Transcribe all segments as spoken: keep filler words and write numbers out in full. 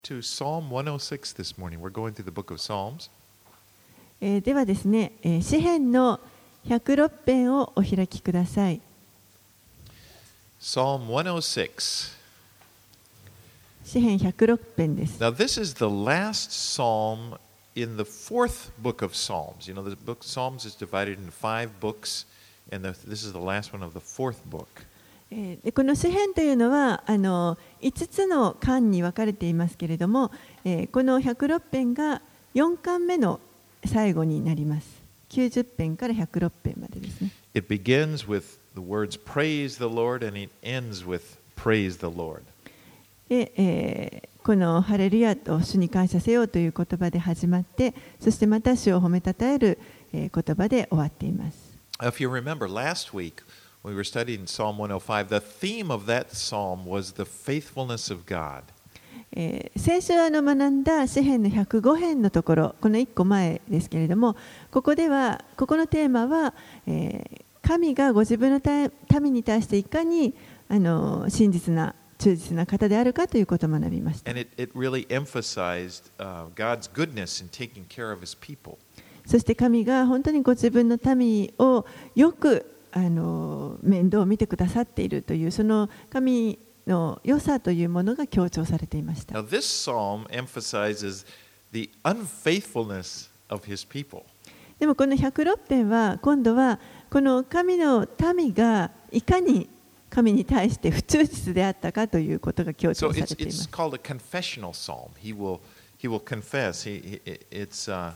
To Psalm one oh six this morning. We're going through the book of Psalms. えーではですね、えー詩編のひゃくろく編をお開きください。 Psalm one oh six. 詩編ひゃくろく編です。 Now, this is the last psalm in the fourth book of Psalms. You know, the book of Psalms is divided into five books, and the, this is the last one of the fourth book. えーでこの詩編というのはあのいつつの巻に分かれていますけれども、えーこのひゃくろく編がよん巻目の最後になります。きゅうじゅう編からひゃくろく編までですね。 It begins with the words praise the Lord, and it ends with praise the Lord. でえーこのハレルヤと主に感謝せよという言葉で始まって、そしてまた主を褒めたたえる、えー言葉で終わっています。 If you remember last week, when we were studying Psalm one oh five, the theme of that psalm was the faithfulness of God. えー先週あの学んだ詩編のひゃくご編のところ、このいっこまえですけれども、ここではここのテーマは、えー神がご自分の民に対していかにあの真実な忠実な方であるかということを学びました。 And it, it really emphasized uh, God's goodness in taking care of his people. そして神が本当にご自分の民をよくあの面倒を見てくださっているというその神の良さというものが強調されていました。 Now, this psalm emphasizes the unfaithfulness of his people. でもこのひゃくろく編は今度はこの神の民がいかに神に対して不忠実であったかということが強 So 調さ it's, れていま it's す。 called a confessional psalm. He will, he will confess. He, he, it's uh,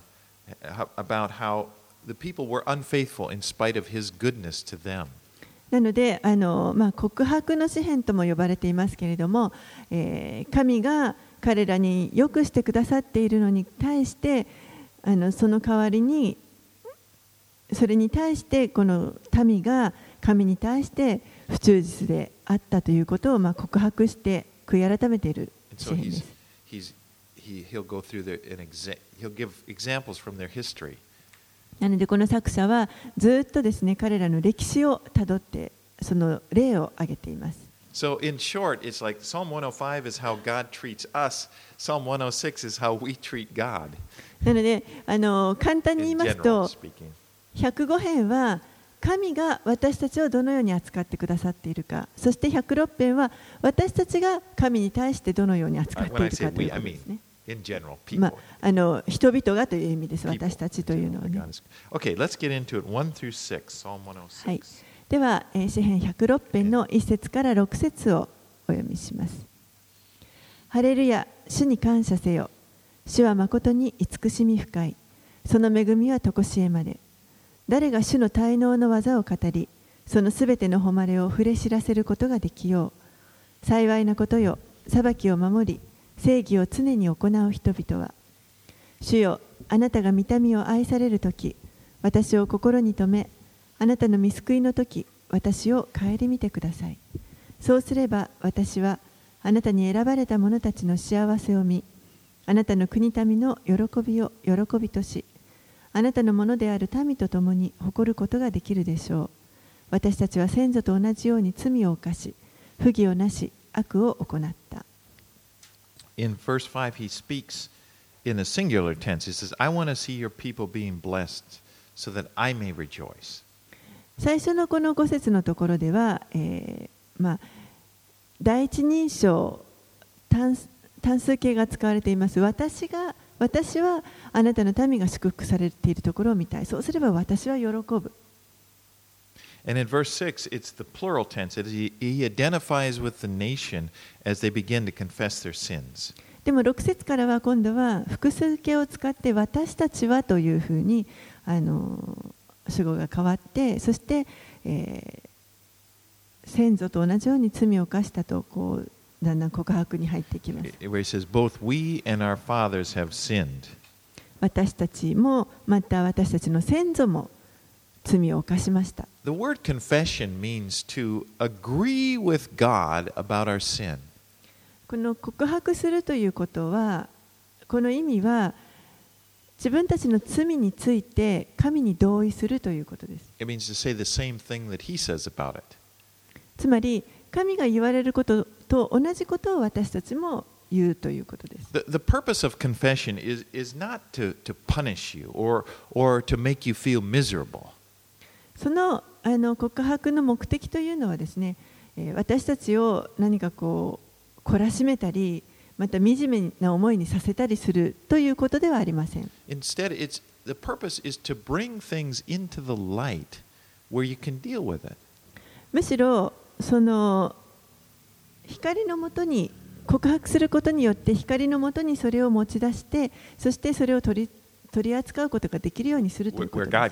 about how the people were unfaithful in spite of his goodness to them. なのであの、まあ、告白の詩編とも呼ばれていますけれども、えー神が彼らによくしてくださっているのに対してあのその代わりにそれに対してこの民が神に対して不忠実であったということをまあ告白して悔い改めている And 詩 so 編で he's, す。 he's, he, he'll go through the, an exa- he'll give examples from their history. なのでこの作者はずっとですね彼らの歴史をたどってその例を挙げています。 So, in short, it's like Psalm one oh five is how God treats us, Psalm one oh six is how we treat God. なのであの簡単に言い In ます general と speaking. ひゃくご編は神が私たちをどのように扱ってくださっているか、そしてひゃくろく編は私たちが神に対してどのように扱っ Uh, て When い I る say かとい we, う I ことで mean すね。 in general, ま people. あ、あの人々がという意味です。 People 私たちというのは that ね。 God is- Okay, let's get into it. one through six, Psalm one oh six. はい。では、えー詩編ひゃくろく編のいち節からろく節をお読みします。ハレルヤ、主に感謝せよ。主は誠に慈しみ深い。その恵みは常しえまで。誰が主の滞納の技を語り、そのすべての誉れを触れ知らせることができよう。幸いなことよ、裁きを守り、正義を常に行う人々は。主よ、あなたが御民を愛されるとき、私を心に留め、あなたの御救いのとき、私を顧みてください。そうすれば私はあなたに選ばれた者たちの幸せを見、あなたの国民の喜びを喜びとし、あなたのものである民と共に誇ることができるでしょう。私たちは先祖と同じように罪を犯し、不義をなし、悪を行った。 In verse five, he speaks in a singular tense. He says, I want to see your people being blessed so that I may rejoice. 最初のこのご節のところでは、えーまあ、第一人称単単数形が使われています。私が私はあなたの民が祝福されているところを見たい。そうすれば私は喜ぶ。 And in verse six, it's the plural tense. It is, he, he identifies with the nation as they begin to confess their sins. でもろく節からは今度は複数形を使って私たちはというふうにあの主語が変わって、そして、えー、先祖と同じように罪を犯したとこうだんだん告白に入っていきます。 Where he says, both we and our fathers have sinned. 私たちもまた私たちの先祖も罪を犯しました。 The word confession means to agree with God about our sin. この告白するということは、この意味は自分たちの罪について神に同意するということです。 It means to say the same thing that he says about it. つまり神が言われることと同じことを私たちも言うということです。 The, the purpose of confession is, is not to, to punish you or, or to make you feel miserable. その、あの告白の目的というのはですね、私たちを何かこう懲らしめたり、また惨めな思いにさせたりするということではありません。 Instead, it's, the purpose is to bring things into the light where you can deal with it. むしろその光のもとに告白することによって光のもとにそれを持ち出して、そしてそれを取り取り扱うことができるようにするということです。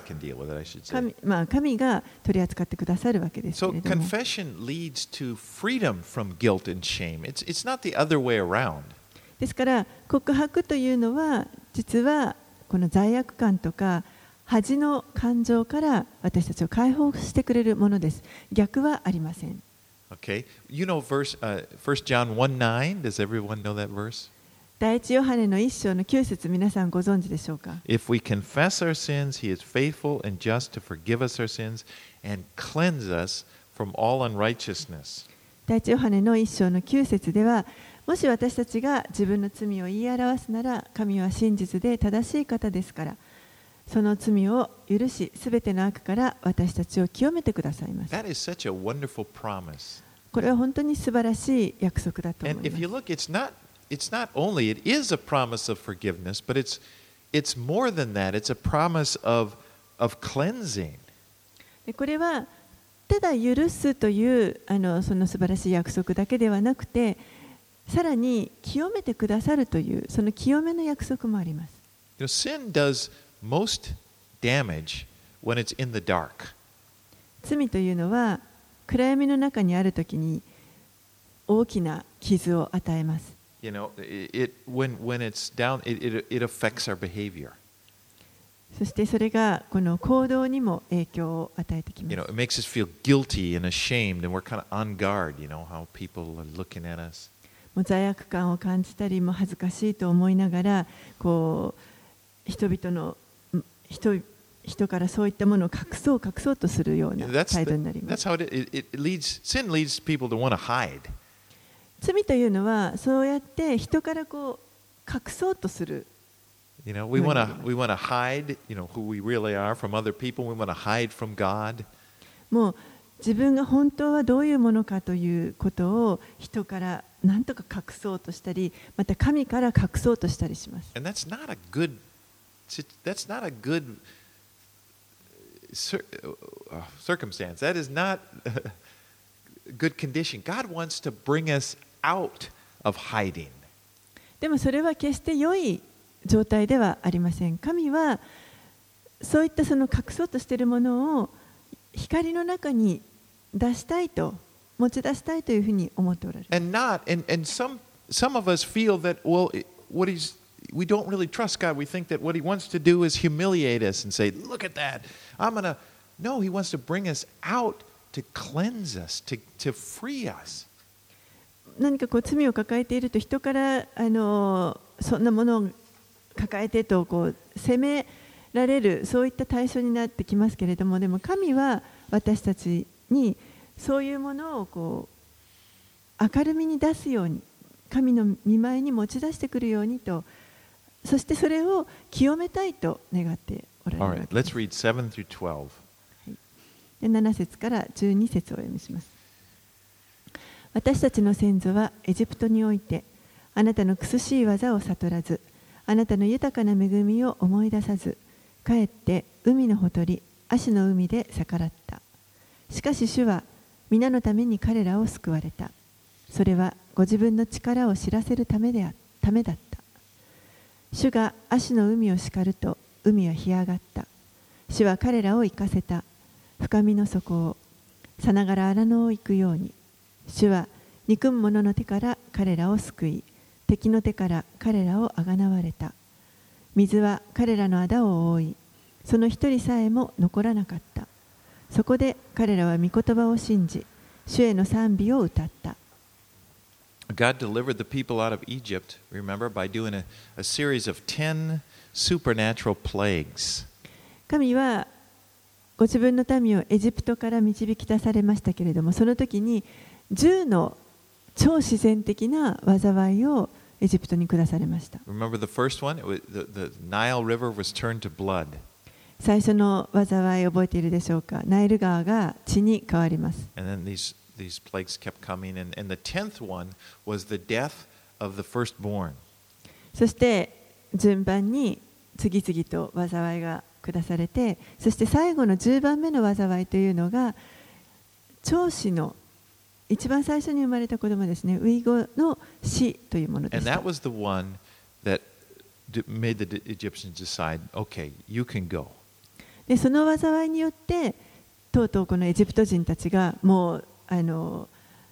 神、まあ、神が取り扱ってくださるわけですけれども。 So confession leads to freedom from guilt and shame. It's, it's not the other way around. ですから告白というのは実はこの罪悪感とか恥の感情から私たちを解放してくれるものです。逆はありません。 Okay, you know verse uh, First John one nine. Does everyone know that verse? 第一ヨハネの一章の九節、皆さんご存知でしょうか。 If we confess our sins, He is faithful and just to forgive us our sins and cleanse us from all unrighteousness. 第一ヨハネの一章の九節では、もし私たちが自分の罪を言い表すなら、神は真実で正しい方ですから、その罪を許し、すべての悪から私たちを清めてくださいます。 That is such a wonderful promise. これは本当に素晴らしい約束だと思い And ま if you す。 look, it's not it's not only it is a promise of forgiveness, but it's it's more than that. It's a promise of of cleansing. でこれはただ許すというあのその素晴らしい約束だけではなくて、さらに清めてくださるというその清めの約束もあります。 You know, sin does most damage when it's in the dark. 罪というのは暗闇の中にあるときに大きな傷を与えます。 You know, it, it when when it's down, it, it it affects our behavior. そしてそれがこの行動にも影響を与えてきま You す。 know, it makes us feel guilty and ashamed, and we're kind of on guard. You know how people are looking at us. もう罪悪感を感じたり、も恥ずかしいと思いながら、こう人々の人人からそういったものを隠そう隠そうとするような That's 態度 the, になりま that's す。 how it, it it leads. Sin leads people to want to hide. 罪というのはそうやって人からこう隠そうとする。 You know, we want to we want to hide. You know who we really are from other people. We want to hide from God. もう自分が本当はどういうものかということを人から何とか隠そうとしたり、また神から隠そうとしたりします。 And that's not a good. That's not a good circumstance. That is not a good condition. God wants to bring us out of hiding. でもそれは決して良い状態ではありません。神はそういったその隠そうとしているものを光の中に出したいと、持ち出したいというふうに思っておられる。 And not, and, and some, some of us feel that, well, what he's, we don't really trust God. We think that what he wants to do is humiliate us and say, look at that. I'm going to, no, he wants to bring us out to cleanse us, to, to free us. 何かこう罪を抱えていると人からあのそんなものを抱えてとこう責められる、そういった対象になってきますけれども、でも神は私たちにそういうものをこう明るみに出すように、神の御前に持ち出してくるようにと、そしてそれを清めたいと願っておられるわけです。 All right, let's read seven through twelve. でなな節からじゅうに節をお読みします。私たちの先祖はエジプトにおいてあなたの苦しい技を悟らず、あなたの豊かな恵みを思い出さず、かえって海のほとり、アシの海で逆らった。しかし主は皆のために彼らを救われた。それはご自分の力を知らせるためであためだった。主がアシの海を叱ると海は干上がった。主は彼らを行かせた。深みの底をさながら荒野を行くように。主は憎む者の手から彼らを救い、敵の手から彼らをあがなわれた。水は彼らの仇を覆い、その一人さえも残らなかった。そこで彼らは御言葉を信じ、主への賛美を歌った。 God delivered the people out of Egypt, remember, by doing a, a series of ten supernatural plagues. 神はご自分の民をエジプトから導き出されましたけれども、その時にじゅうの超自然的な災いをエジプトに下されました。 Remember the first one? It was, the, the Nile River was turned to blood. 最初の災い覚えているでしょうか。ナイル川が血に変わります。 And then these, these plagues kept coming. And, and the tenth one was the death of the firstborn. そして順番に次々と災いが下されて、そして最後のじゅうばんめの災いというのが長子の一番最初に生まれた子供ですね、初子の死というものでした。 And that was the one that made the Egyptians decide, okay, you can go. でその災いによってとうとうこのエジプト人たちがもうあの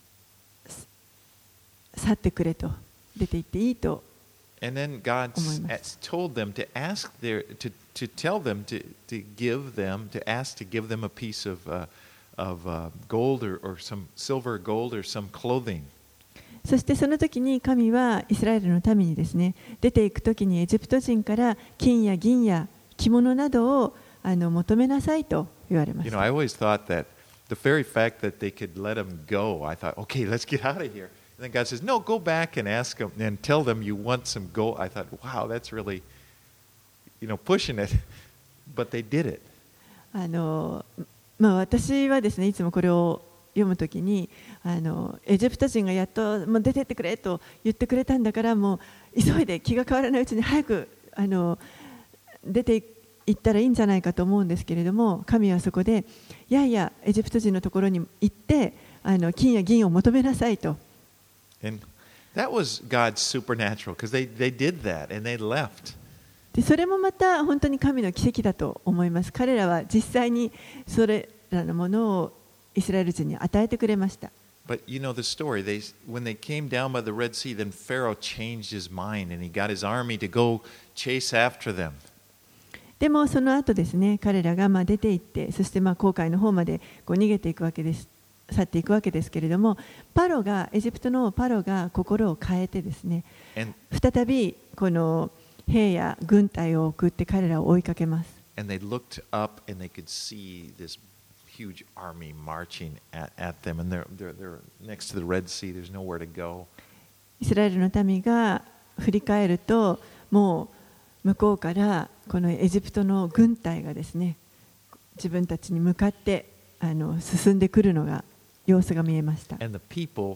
去ってくれと、出て行っていいと。 And then God told them to ask their, to, to tell them to, to give them, to ask to give them a piece of, uh, of uh, gold or, or some silver or gold or some clothing. そしてその時に神はイスラエルの民にですね、出ていく時にエジプト人から金や銀や着物などをあの求めなさいと言われまし You た。 know, I always thought that the very fact that they could let them go, I thought, okay, let's get out of here. And then God says, no, go back and ask them and tell them you want some gold. I thought, wow, that's really, you know, pushing it. But they did it. あのまあ、私はですね、いつもこれを読むときにあのエジプト人がやっともう出てってくれと言ってくれたんだから、もう急いで気が変わらないうちに早くあの出て行ったらいいんじゃないかと思うんですけれども、神はそこでいやいやエジプト人のところに行ってあの金や銀を求めなさいと。 And that was God's supernatural because they, they did that and they left. でそれもまた本当に神の奇跡だと思います。彼らは実際にそれらのものをイスラエル人に与えてくれました。 But you know the story. They, when they came down by the Red Sea, then Pharaoh changed his mind and he got his army to go chase after them. でもその後ですね、彼らがまあ出て行って、そしてまあ紅海の方までこう逃げていくわけです。去っていくわけですけれども、パロがエジプトのパロが心を変えてですね、再びこの兵や軍隊を送って彼らを追いかけます。 And they looked up and they could see this huge army marching at, at them, and they're, they're, they're next to the Red Sea. There's nowhere to go. イスラエルの民が振り返ると、もう向こうからこのエジプトの軍隊がですね、自分たちに向かってあの進んでくるのが様子が見えました。 And the people,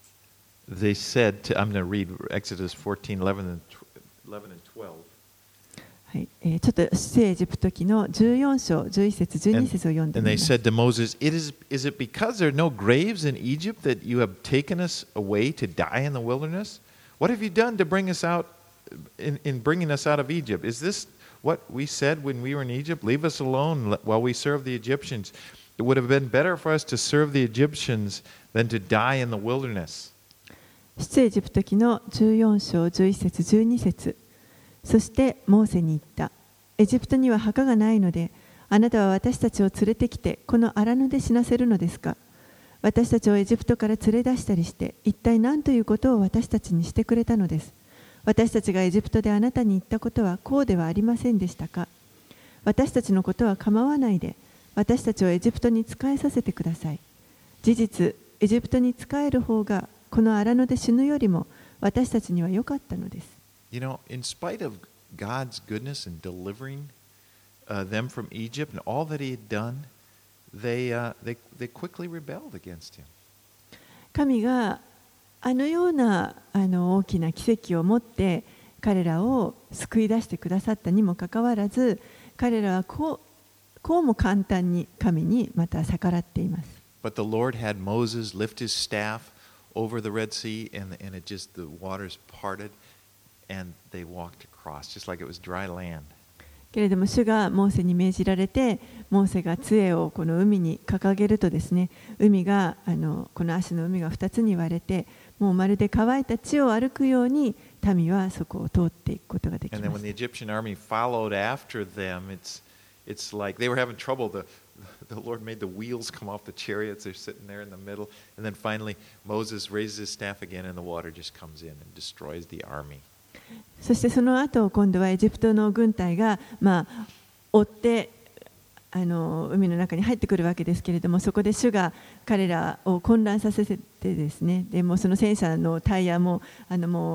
they said, to, I'm going to read Exodus fourteen, eleven and twelve. はい、えー、ちょっと出エジプト記のじゅうよん章じゅういち節じゅうに節を読んで And み they ます。 said to Moses, it is, is it because there are no graves in Egypt that you have taken us away to die in the wilderness? What have you done to bring us out in, in bringing us out of Egypt? Is this what we said when we were in Egypt? Leave us alone while we serve the Egyptians. It would have been better for us to serve the Egyptians than to die in the wilderness. 出エジプト記のじゅうよん章じゅういち節じゅうに節。そしてモーセに言った。エジプトには墓がないので、あなたは私たちを連れてきてこの荒野で死なせるのですか。私たちをエジプトから連れ出したりして、一体何ということを私たちにしてくれたのです。私たちがエジプトであなたに言ったことはこうではありませんでしたか。私たちのことは構わないで、私たちをエジプトに仕えさせてください。事実、エジプトに仕える方がこの荒野で死ぬよりも私たちには良かったのです。 You know, in spite of God's goodness in delivering uh, them from Egypt and all that He had done, they, uh, they, they quickly rebelled against Him. 神があのようなあの大きな奇跡を持って彼らを救い出してくださったにもかかわらず、彼らはこうこうも簡単に神にまた逆らっています。 But the Lord had Moses lift his staff over the Red Sea, and, and it just, the waters parted, and they walked across, just like it was dry land. けれども主がモーセに命じられて、モーセが杖をこの海に掲げるとですね、海があのこの足の海が二つに割れて、もうまるで乾いた地を歩くように民はそこを通っていくことができます。 And then when the Egyptian army followed after them, it's it's like they were having trouble. The the Lord made the wheels come off the chariots. They're sitting there in the middle, and then finally Moses raises his staff again, and the water just comes in and destroys the army. そしてその後今度はエジプトの軍隊がまあ追ってあの海の中に入ってくるわけですけれども、そこで主が彼らを混乱させてですね、でもその戦車のタイヤもあのもう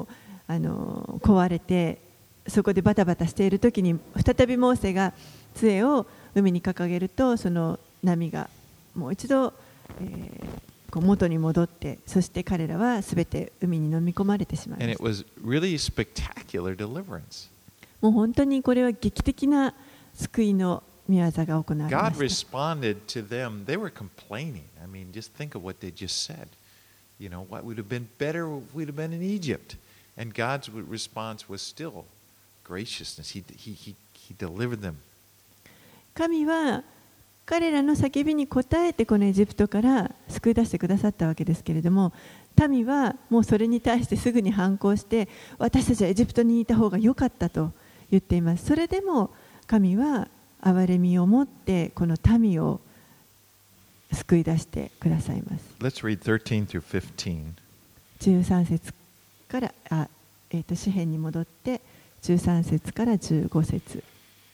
あの壊れてそこでバタバタしている時に再びモーセが杖を海に掲げるとその波がもう一度、えー、こう元に戻ってそして彼らはすべて海に飲み込まれてしまいました。 And it was really spectacular deliverance. もう本当にこれは劇的な救いの御業が行われま God した。 responded to them. They were complaining. I mean, just think of what they just said. You know, what would have been better if we'd have been in Egypt. And God's response was still graciousness. He, he, he, he delivered them. 神は彼らの叫びに応えてこのエジプトから救い出してくださったわけですけれども、民はもうそれに対してすぐに反抗して私たちはエジプトにいた方が良かったと言っています。それでも神は憐れみを持ってこの民を救い出してくださいます。 Let's read thirteen through fifteen. じゅうさん節からあ、えー、と詩編に戻ってじゅうさん節からじゅうご節。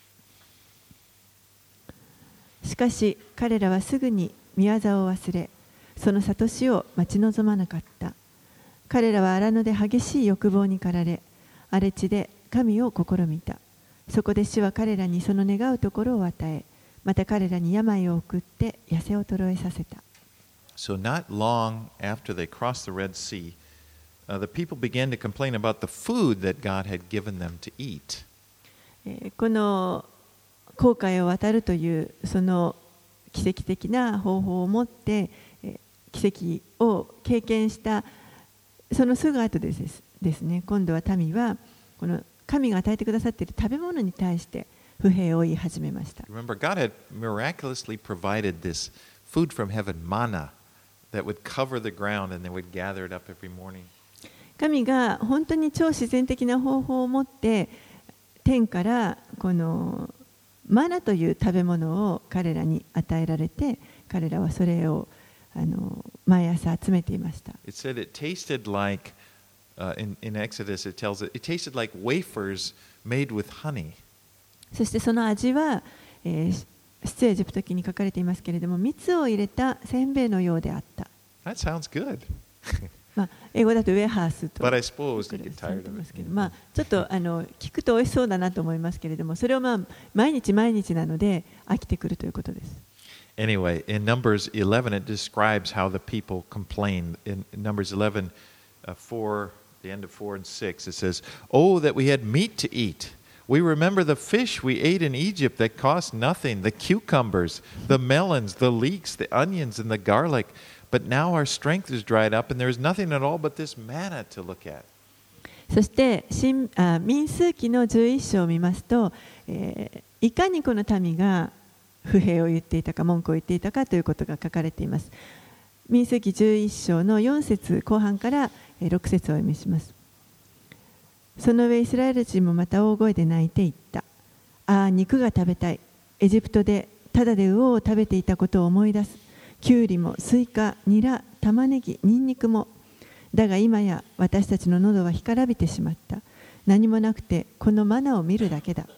しかし彼らはすぐに御業を忘れ、その諭しを待ち望まなかった。彼らは荒野で激しい欲望に駆られ、荒れ地で神を試みた。そこで主は彼らにその願うところを与え、また彼らに病を送って痩せ衰えさせた。 So not long after they crossed the Red Sea, uh, the people began to complain about the food that God had given them to eat. えーこの紅海を渡るというその奇跡的な方法を持って奇跡を経験したそのすぐ後ですですね、今度は民はこの神が与えてくださっている食べ物に対して不平を言い始めました。 Remember, God had miraculously provided this food from heaven, manna, that would cover the ground and they would gather it up every morning. 神が本当に超自然的な方法を持って天からこのマナという食べ物を彼らに与えられて、彼らはそれをあの毎朝集めていました。 It said it tasted like, uh, in, in Exodus it tells it, it tasted like wafers made with honey. そしてその味は、えー、出エジプト記に書かれていますけれども、蜜を入れたせんべいのようであった。 That sounds good. まあ、英語だとウェハースと But I suppose さ you れ get て tired い of ますけど、 it. まあ、ちょっとあの聞くと美味しそうだなと思いますけれども、それを、まあ、毎日毎日なので飽きてくるということです。 Anyway, in Numbers eleven, it describes how the people complained. In Numbers eleven, uh, four, the end of four and six, it says, "Oh, that we had meat to eat. We remember the fish we ate in Egypt that cost nothing, the cucumbers, the melons, the leeks, the onions, and the garlic. But now our strength is dried up, and there is nothing at all but this manna to look at." そして新あ民数記のじゅういっ章を見ますと、えー、いかにこの民が不平を言っていたか文句を言っていたかということが書かれています。民数記じゅういっ章のよん節後半からろく節をお読みします。その上イスラエル人もまた大声で泣いていった。ああ、肉が食べたい。エジプトでただで魚を食べていたことを思い出す。キュウリもスイカ、ニラ、玉ねぎ、ニンニクも。だが今や私たちの喉は干からびてしまった。何もなくてこのマナを見るだけだ。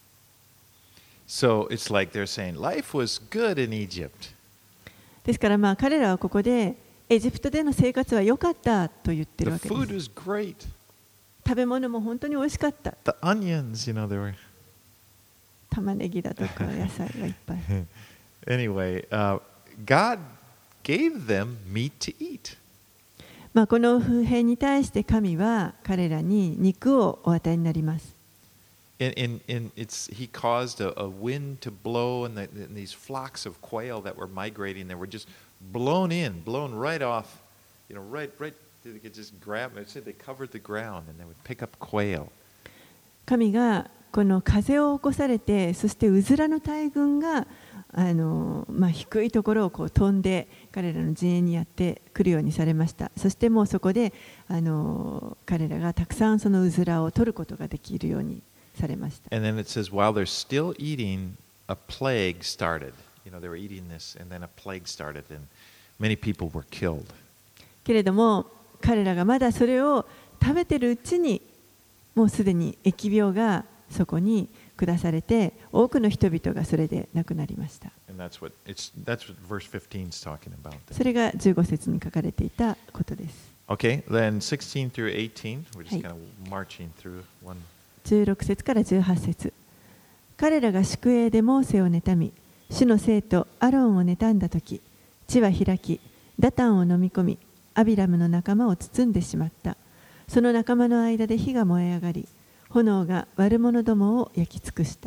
So it's like they're saying, life was good in Egypt. ですからまあ彼らはここでエジプトでの生活は良かったと言ってる The わけです。 food was great. 食べ物も本当に美味しかった。 The onions, you know, they were. 玉ねぎだとか野菜がいっぱい。 Anyway, uh, God gave them meat to eat. まあこの不平に対して神は彼らに肉をお与えになります。 In, in, in it's, he caused a, a wind to blow, and, the, and these flocks of quail that were migrating, they were just blown in, blown right off, you know, right, right. They could just grab them. It said they covered the ground, and they would pick up quail. 神がこの風を起こされて、そしてうずらの大群があの、まあ、低いところをこう飛んで彼らの陣営にやってくるようにされました。そしてもうそこであの彼らがたくさんそのうずらを取ることができるようにされました。 And then it says, while they're still eating, a plague started. You know, they were eating this, and then a plague started, and many people were killed. けれども彼らがまだそれを食べてるうちにもうすでに疫病がそこに下されて多くの人々がそれで亡くなりました。 And that's what it's that's what verse fifteen is talking about. それがじゅうご節に書かれていたことです。 Okay, then sixteen through eighteen, we're just はい。 kind of marching through one. じゅうろく節からじゅうはち節。彼らが宿営でモーセを妬み、主の生徒アロンを妬んだとき、地は開き、ダタンを飲み込み、アビラムの仲間を包んでしまった。その仲間の間で火が燃え上がり、炎が悪者どもを焼き尽くした。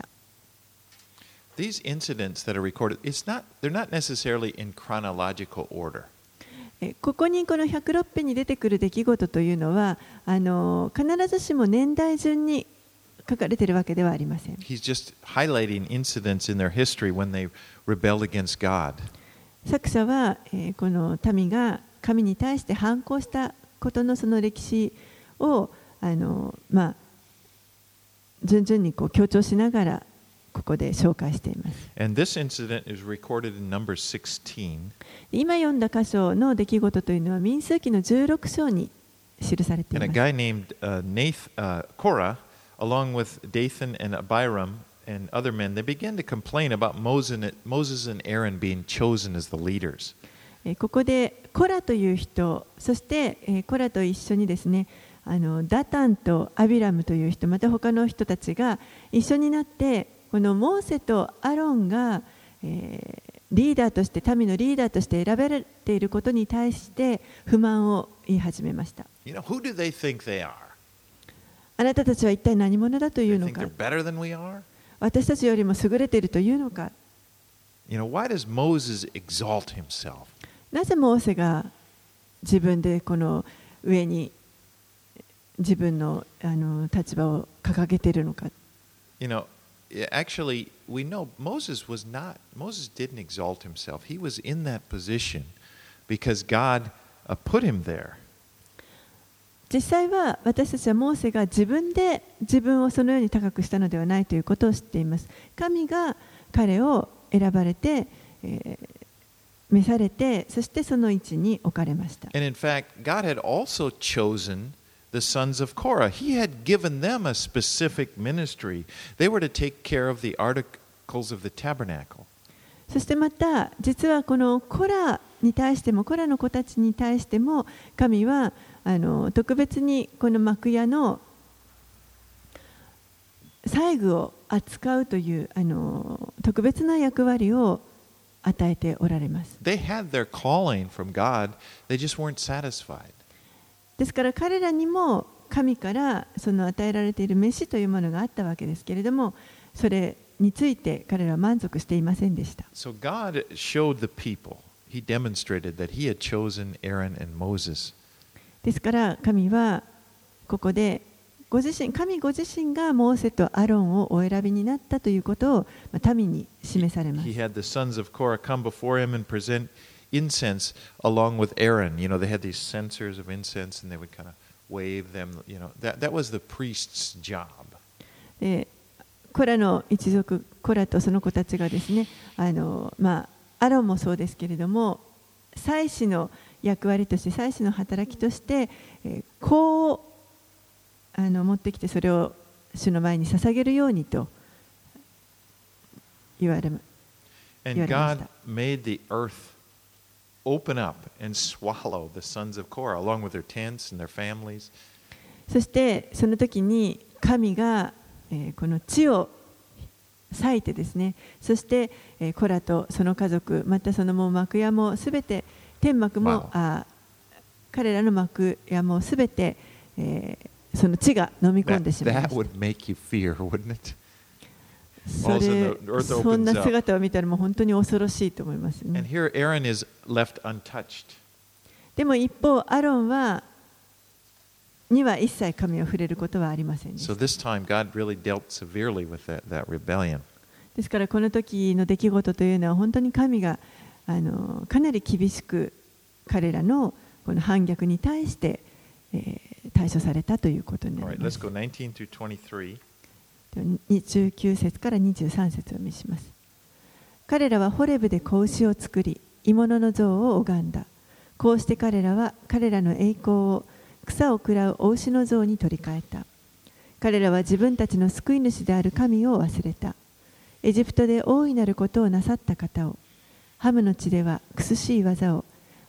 These incidents that are recorded, it's not, they're not necessarily in chronological order. えここにこのひゃくろく編に出てくる出来事というのは、あの必ずしも年代順に書かれているわけではありません。 He's just highlighting incidents in their history when they rebelled against God. 作者は、えーこの民が神に対して反抗したことのその歴史をあの、まあ、順々にこう強調しながらここで紹介しています。 And this incident is recorded in Numbers sixteen. 今読んだ箇所の出来事というのは民数記のじゅうろく章に記されてい And a ます。 guy named uh, Nath, uh, Korah, along with Dathan and Abiram and other men, they began to complain about Moses and, Moses and Aaron being chosen as the leaders. えーここでコラという人、そして、えーコラと一緒にですね、あのダタンとアビラムという人、また他の人たちが一緒になって、このモーセとアロンが、えーリーダーとして、民のリーダーとして選ばれていることに対して不満を言い始めました。 You know, who do they think they are? あなたたちは一体何者だとい They うの think か they're、better than we are? 私たちよりも優れているというのか、 You know, why does Moses exalt himself? なぜモーセが自分でこの上に自分のあの立場を掲げているのか。 You know, actually, we know Moses was not, Moses didn't exalt himself. He was in that position because God uh, put him there. 実際は私たちはモーセが自分で自分をそのように高くしたのではないということを知っています。神が彼を選ばれて、えー召されて、そしてその位置に置かれました。 And in fact, God had also chosen the sons of Korah. He had given them a specific ministry. They were to take care of the articles of the tabernacle. そしてまた実はこのコラに対しても、コラの子たちに対しても神はあの特別にこの幕屋の細具を扱うというあの特別な役割を与えておられます。 They had their calling from God. They just weren't satisfied. ですから彼らにも神からその与えられている召しというものがあったわけですけれども、それについて彼らは満足していませんでした。 So God showed the people. He demonstrated that He had chosen Aaron and Moses. ですから神はここでご自身、神ご自身がモーセとアロンをお選びになったということを民に示されます。 He had the sons of Korah come before him and present incense along with Aaron. You know, they had these censers of incense and they would kind of wave them. You know, that, that was the priest's job. でコラの一族、コラとその子たちがですね、あのまあアロンもそうですけれども、祭司の役割として、祭司の働きとして、えー、香をあの持ってきてそれを主の前に捧げるようにと言われま And God made the earth open up and swallow the sons of Korah along with their tents and their families. そしてその時に神が、えー、この地を裂いてですね、そして、えー、コラとその家族、またそのもう幕屋もすべて、天幕も、 Wow. あ彼らの幕屋もすべて、えーその地が飲み込んで That, しまいま that した。 would make you fear, wouldn't it? それ Also, the earth そんな opens up. 姿を見たらもう本当に恐ろしいと思います And ね。 here Aaron is left untouched. でも一方、アロンはには一切神を触れることはありませんでし So た。 this time God really dealt severely with that, that rebellion. ですからこの時の出来事というのは本当に神があのかなり厳しく彼らのこの反逆に対して、えー対処されたということにな All り right, ま let's す。 go nineteen through twenty-three. じゅうきゅう節からにじゅうさん節を見します。彼らはホレブで子牛を作り、鋳物の像を拝んだ。こうして彼らは彼らの栄光を草を食らうお牛の像に取り替えた。彼らは自分たちの救い主である神を忘れた。エジプトで大いなることをなさった方を、ハムの地では苦しい技を、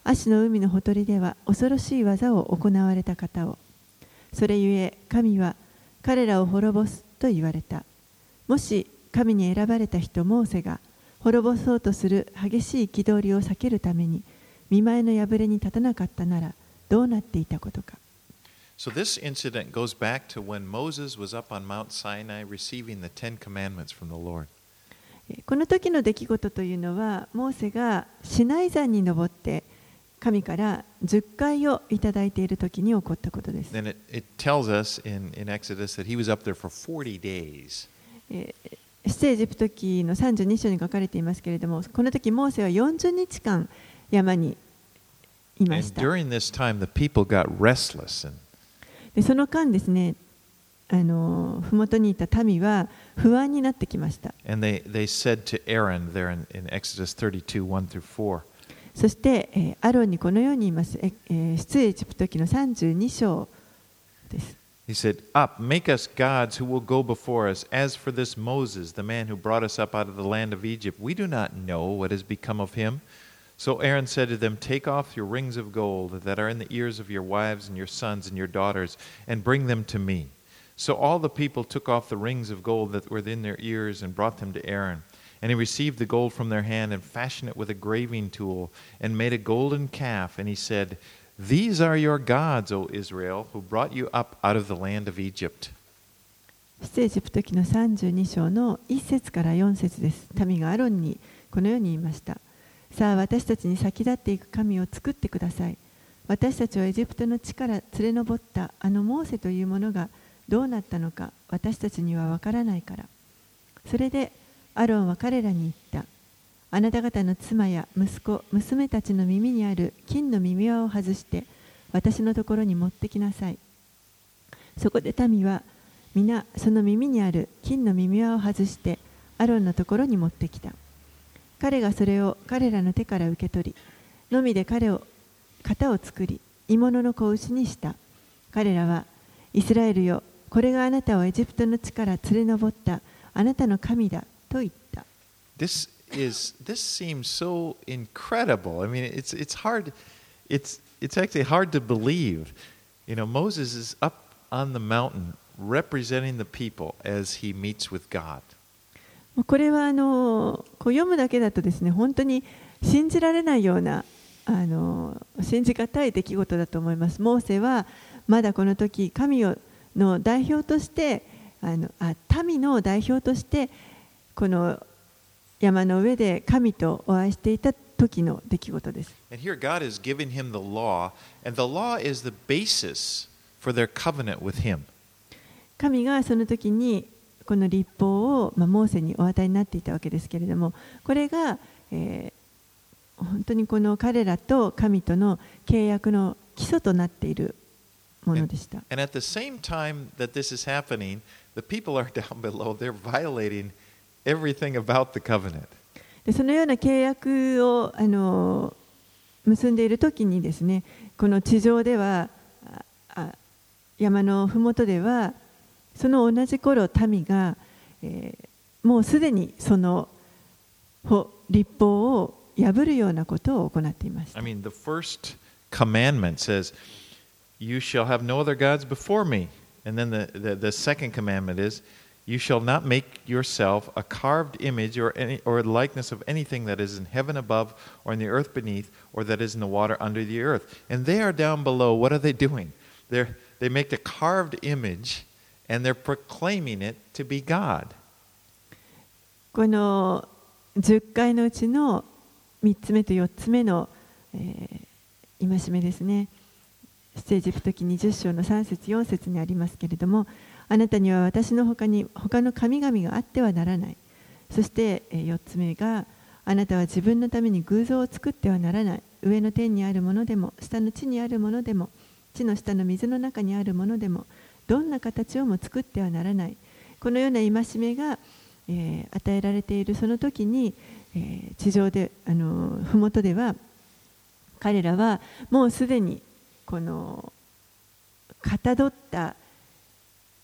アシの海のほとりでは恐ろしい技を行われた方を。それゆえ神は彼らを滅ぼすと言われた。もし神に選ばれた人モーセが滅ぼそうとする激しい憤りを避けるために見舞いの破れに立たなかったならどうなっていたことか。 So this incident goes back to when Moses was up on Mount Sinai receiving the Ten Commandments from the Lord. この時の出来事というのは、モーセがシナイ山に登って神からじゅっかいをいただいている時に起こったことです。 Then it, it tells us in, in Exodus that he was up there for forty days. 出エジプト記のさんじゅうに章に書かれていますけれども、この時モーセはよんじゅうにちかん山にいました。 And during this time, the people got restless. And, でその間ですね、あの麓にいた民は不安になってきました。 and they, they said to Aaron there in, in Exodus thirty-two, one through four. そして、えー、アロンにこのように言います。えー、出エジプト記のさんじゅうに章です。 He said, Up, make us gods who will go before us. As for this Moses, the man who brought us up out of the land of Egypt, we do not know what has become of him. So Aaron said to them, Take off your rings of gold that are in the ears of your wives and your sons and your daughters, and bring them to me. So all the people took off the rings of gold that were in their ears and brought them to Aaron. And he received the gold from their hand and fashioned it with a graving tool and made a golden calf. And he said, These are your gods, O Israel, who brought you up out of the land of Egypt. 出エジプト記のさんじゅうに章のいち節からよん節です。民がアロンにこのように言いました。さあ、私たちに先立っていく神を作ってください。私たちはエジプトの地から連れ上ったあのモーセというものがどうなったのか私たちにはわからないから。それでアロンは彼らに言った。あなた方の妻や息子、娘たちの耳にある金の耳輪を外して私のところに持ってきなさい。そこで民は皆その耳にある金の耳輪を外してアロンのところに持ってきた。彼がそれを彼らの手から受け取り、のみで彼を型を作り、鋳物の子牛にした。彼らはイスラエルよ、これがあなたをエジプトの地から連れ上ったあなたの神だと言った。 This is this seems so incredible. I mean, it's it's hard. It's it's actually hard to believe. You know, Moses is up on the mountain representing the people as he meets with God. これはあのこう読むだけだとですね、本当に信じられないようなあの信じがたい出来事だと思います。モーセはまだこの時神をの代表としてあのあ民の代表としてこの山の上で神とお会いしていた時の出来事です。 And here God is giving him the law, and the law is the basis for their covenant with him. 神がその時にこの律法を、まあ、モーセにお与えになっていたわけですけれども、これが、えー、本当にこの彼らと神との契約の基礎となっているものでした。 And, and at the same time that this is happening, the people are down below. They're violating everything about the covenant. でそのような契約をあの結んでいる時にですね、この地上ではあ山のふもとではその同じ頃民が、えー、もうすでにその律法を破るようなことを行っていました。 I mean, the first commandment says, "You shall have no other gods before me." And then the, the, the second commandment is, "You shall not make yourself a carved image or any or likeness of anything that is in heaven above, or in the earth beneath, or that is in the water under the earth." And they are down below. What are they doing? They're, they make a carved image, and they're proclaiming it to be God. このじゅっかいのうちのみっつめとよっつめの、えー、戒めですね。出エジプト記にじゅっ章のさん節よん節にありますけれども、あなたには私の他に他の神々があってはならない。そしてよっつめが、あなたは自分のために偶像を作ってはならない。上の天にあるものでも下の地にあるものでも地の下の水の中にあるものでもどんな形をも作ってはならない。このような戒めが、えー、与えられているその時に、えー、地上であの麓では彼らはもうすでにこのかたどった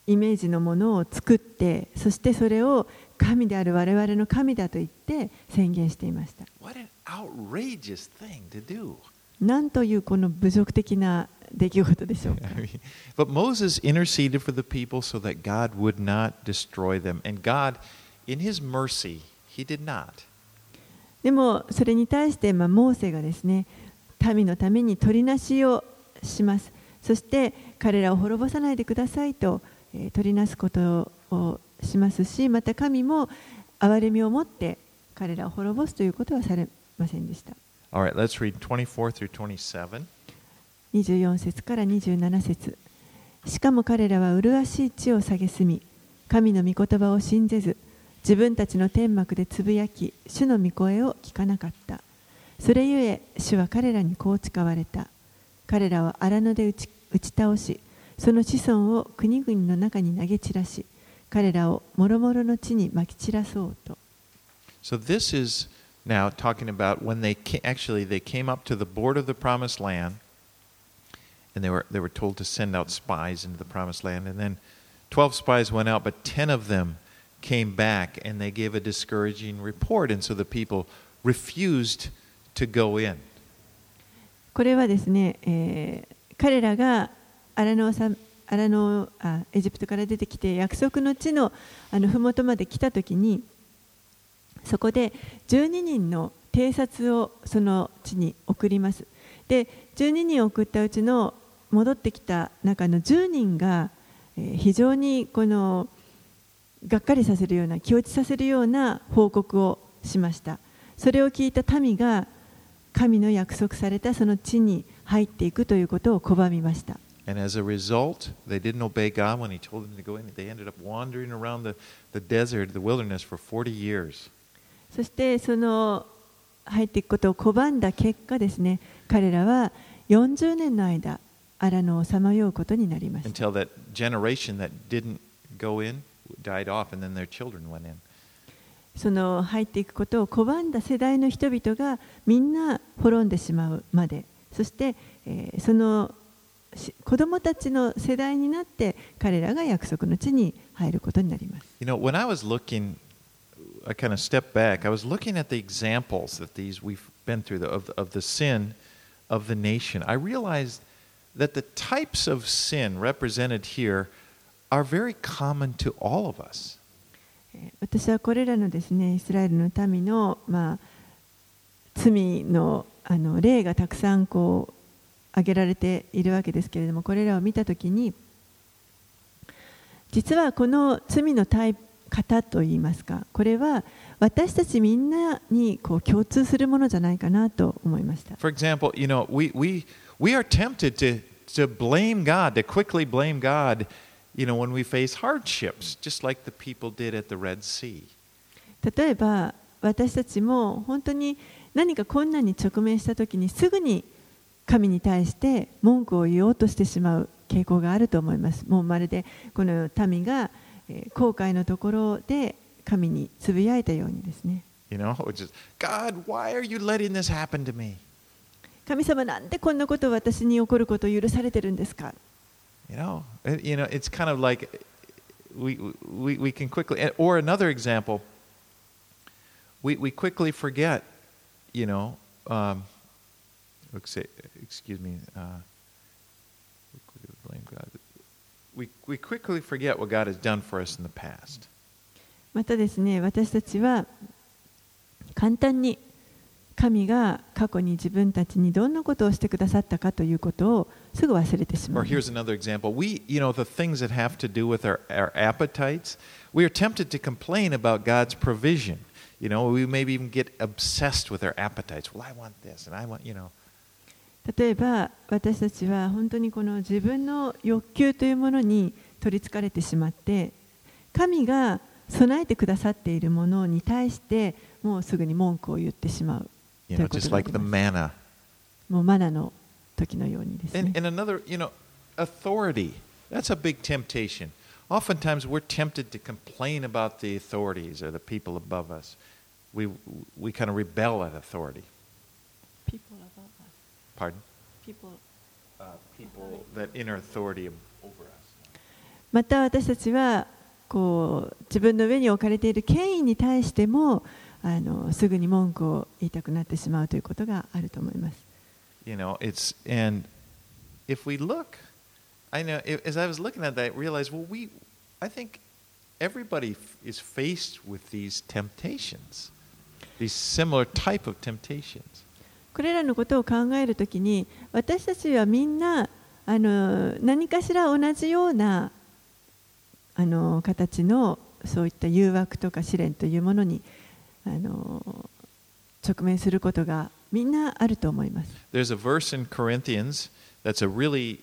イメージのものを作って、そしてそれを神である我々の神だと言って宣言していました。 What an outrageous thing to do. なんというこの侮辱的な出来事でしょうか。 But Moses interceded for the people so that God would not destroy them. And God, in his mercy, he did not. でもそれに対して、まあ、モーセがですね、民のために取りなしをします。そして彼らを滅ぼさないでくださいと、えー、取りなすことをしますし、また神も憐れみを持って彼らを滅ぼすということはされませんでした。 All right, let's read twenty-four through twenty-seven. にじゅうよん節からにじゅうなな節。しかも彼らは麗しい地を蔑み、神の御言葉を信ぜず、自分たちの天幕でつぶやき、主の御声を聞かなかった。それゆえ、主は彼らにこう誓われた。彼らは荒野で打ち、打ち倒し、その子孫を国々の中に投げ散らし、彼らをもろもろの地にまき散らそうと。 So this is now talking about when they came, actually they came up to the border of the promised land, and they were they were told to send out spies into the promised land, and then twelve spies went out, but ten of them came back and they gave a discouraging report, and so the people refused to go in. これはですね、えー、彼らが荒野さ荒野あエジプトから出てきて約束の地のあの麓まで来たときに、そこでじゅうににんの偵察をその地に送ります。で、じゅうににん送ったうちの戻ってきた中のじゅうにんが、えー、非常にこのがっかりさせるような、気落ちさせるような報告をしました。それを聞いた民が神の約束されたその地に入っていくということを拒みました。 And as a result, they didn't obey God when He told them to go in. They ended up wandering around the, the desert, the wilderness for forty years. そしてその入っていくことを拒んだ結果ですね、彼らはよんじゅうねんの間、荒野をさまようことになりました。 Until that generation that didn't go in died off, and then their children went in. その入っていくことを拒んだ世代の人々がみんな滅んでしまうまで、そして、えー、その子供たちの世代になって彼らが約束の地に入ることになります。 You know, when I was looking, I kind of stepped back. I was looking at the examples that these we've been through the, of, of the sin of the nation. I realized that the types of sin represented here are very common to all of us. 私はこれらのですね、イスラエルの民の、まあ、罪の、あの例がたくさんこう挙げられているわけですけれども、これらを見たときに、実はこの罪のタイプ型といいますか、これは私たちみんなにこう共通するものじゃないかなと思いました。 For example, you know, we, we, we are tempted to, to blame God, to quickly blame God, you know, when we face hardships, just like the people did at the Red Sea. 例えば、私たちも本当に何か困難に直面したときにすぐに神に対して文句を言おうとしてしまう傾向があると思います。もうまるでこの民が航海のところで神につぶやいたようにですね。 You know, just, God, why are you letting this happen to me? 神様、なんでこんなことを私に起こることを許されてるんですか？ You know, you know, it's kind of like we, we, we can quickly, or another example, we, we quickly forget, you know, um, excuse me, uh, blame God. We, we quickly forget what God has done for us in the past. またですね、私たちは簡単に神が過去に自分たちにどんなことをしてくださったかということをすぐ忘れてしまう。 Or here's another example. We, you know, the things that have to do with our, our appetites, we are tempted to complain about God's provision. You know, we maybe even get obsessed with our appetites. Well, I want this, and I want, you know. 例えば私たちは本当にこの自分の欲求というものに取りつかれてしまって、神が備えてくださっているものに対してもうすぐに文句を言ってしまう。 You know, just like the manna. もうマナの時のようにですね。 And, and another, you know, authority. That's a big temptation. Oftentimes we're tempted to complain about the authorities or the people above us. We, we kind of rebel at authority. People above us. Pardon? People. Uh, people that inner authority over us. また私たちはこう自分の上に置かれている権威に対してもあのすぐに文句を言いたくなってしまうということがあると思います。 You know, it's and if we look, I know as I was looking at that, I realized, well, we, I think everybody is faced with these temptations, these similar type of temptations. これらのことを考えるときに、私たちはみんなあの何かしら同じようなあの形のそういった誘惑とか試練というものにあの直面することがみんなあると思います。 There's a verse in Corinthians that's a really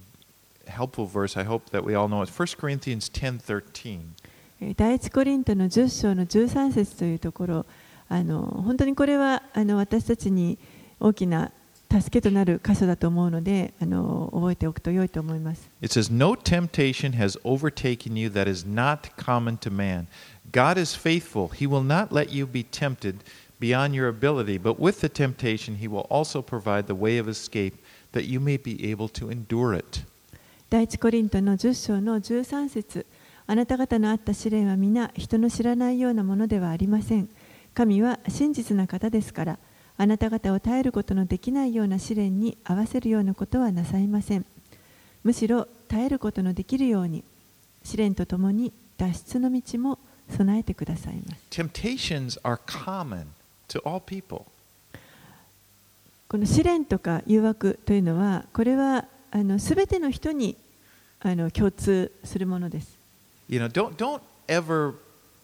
helpful verse. I hope that we all know it. First Corinthians ten thirteen. 第一コリントのじゅっ章のじゅうさん節というところ、あの本当にこれはあの私たちに大きな助けとなる箇所だと思うので、あの覚えておくと良いと思います。 It says, "No temptation has overtaken you that is not common to man. God is faithful. He will not let you be tempted beyond your ability, but with the temptation, He will also provide the way of escape that you may be able to endure it." 第一コリントのじゅっ章のじゅうさん節、あなた方のあった試練は皆人の知らないようなものではありません。神は真実な方ですから、あなた方を耐えることのできないような試練に合わせるようなことはなさいません。むしろ耐えることのできるように、試練とともに脱出の道も備えてくださいます。 Temptations are common to all people. この試練とか誘惑というのは、これはあの全ての人にあの共通するものです。 You know, don't don't ever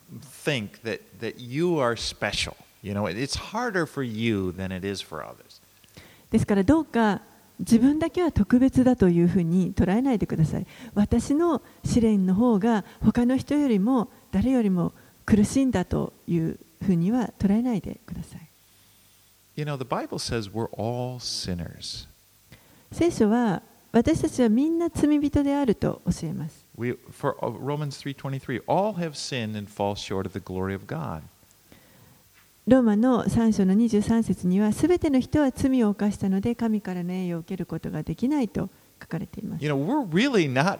think that that you are special. You know, it's harder for you than it is for others. ですからどうか自分だけは特別だというふうに捉えないでください。私の試練の方が他の人よりも誰よりも苦しいんだというふうには捉えないでください。 You know, the Bible says we're all sinners. 聖書は私たちはみんな罪人であると教えます。 We, for Romans three twenty-three, all have sinned and fall short of the glory of God. ローマのさん章のにじゅうさん節には、すべての人は罪を犯したので神からの栄誉を受けることができないと書かれています。 You know, we're really not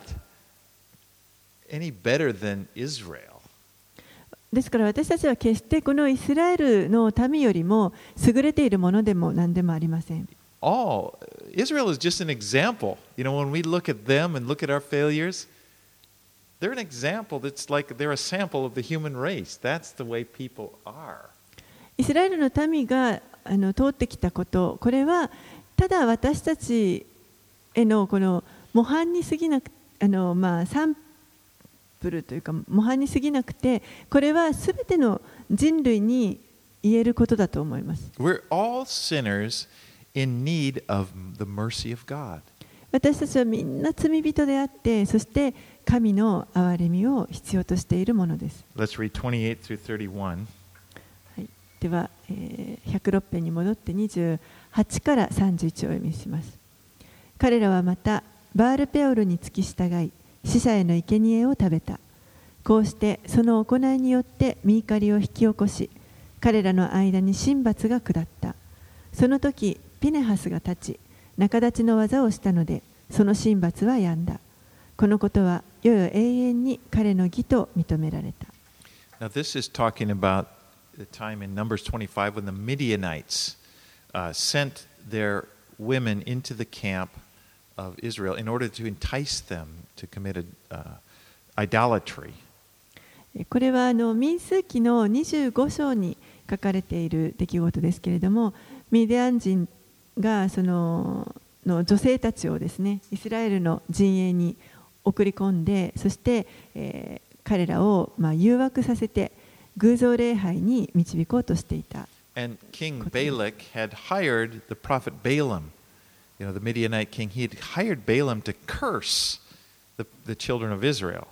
any better than Israel. ですから私たちは決してこのイスラエルの民よりも優れているものでも何でもありません。 All Israel is just an example. You know, when we look at them and look at our failures, they're an example that's like they're a sample of the human race. That's the way people are. イスラエルの民があの通ってきたこと、これはただ私たちへのこの模範に過ぎなく、あのまあサンプルというか模範に過ぎなくて、これはすべての人類に言えることだと思います。 We're all sinners in need of the mercy of God. 私たちはみんな罪人であって、そして神の憐れみを必要としているものです。 Let's read twenty-eight through thirty-one. はい、では、えー、ひゃくろく編に戻ってにじゅうはちからさんじゅういちをお読みします。彼らはまたバールペオルに付き従い、死者への生贄を食べた。こうしてその行いによって御怒りを引き起こし、彼らの間に神罰が下った。その時ピネハスが立ち、仲立ちの技をしたので、その神罰は止んだ。このことは世々永遠に彼の義と認められた。 Now this is talking about the time in Numbers twenty-five when the Midianites uh, sent their women into the camp of Israel in order to entice them to commit a, uh, idolatry. これはあの民数記のにじゅうご章に書かれている出来事ですけれども、ミディアン人がそのの女性たちをですね、イスラエルの陣営に送り込んで、そして、えー、彼らをまあ誘惑させて偶像礼拝に導こうとしていた。 And King Balak had hired the prophet Balaam, you know, the Midianite king. He had hired Balaam to curse the, the children of Israel.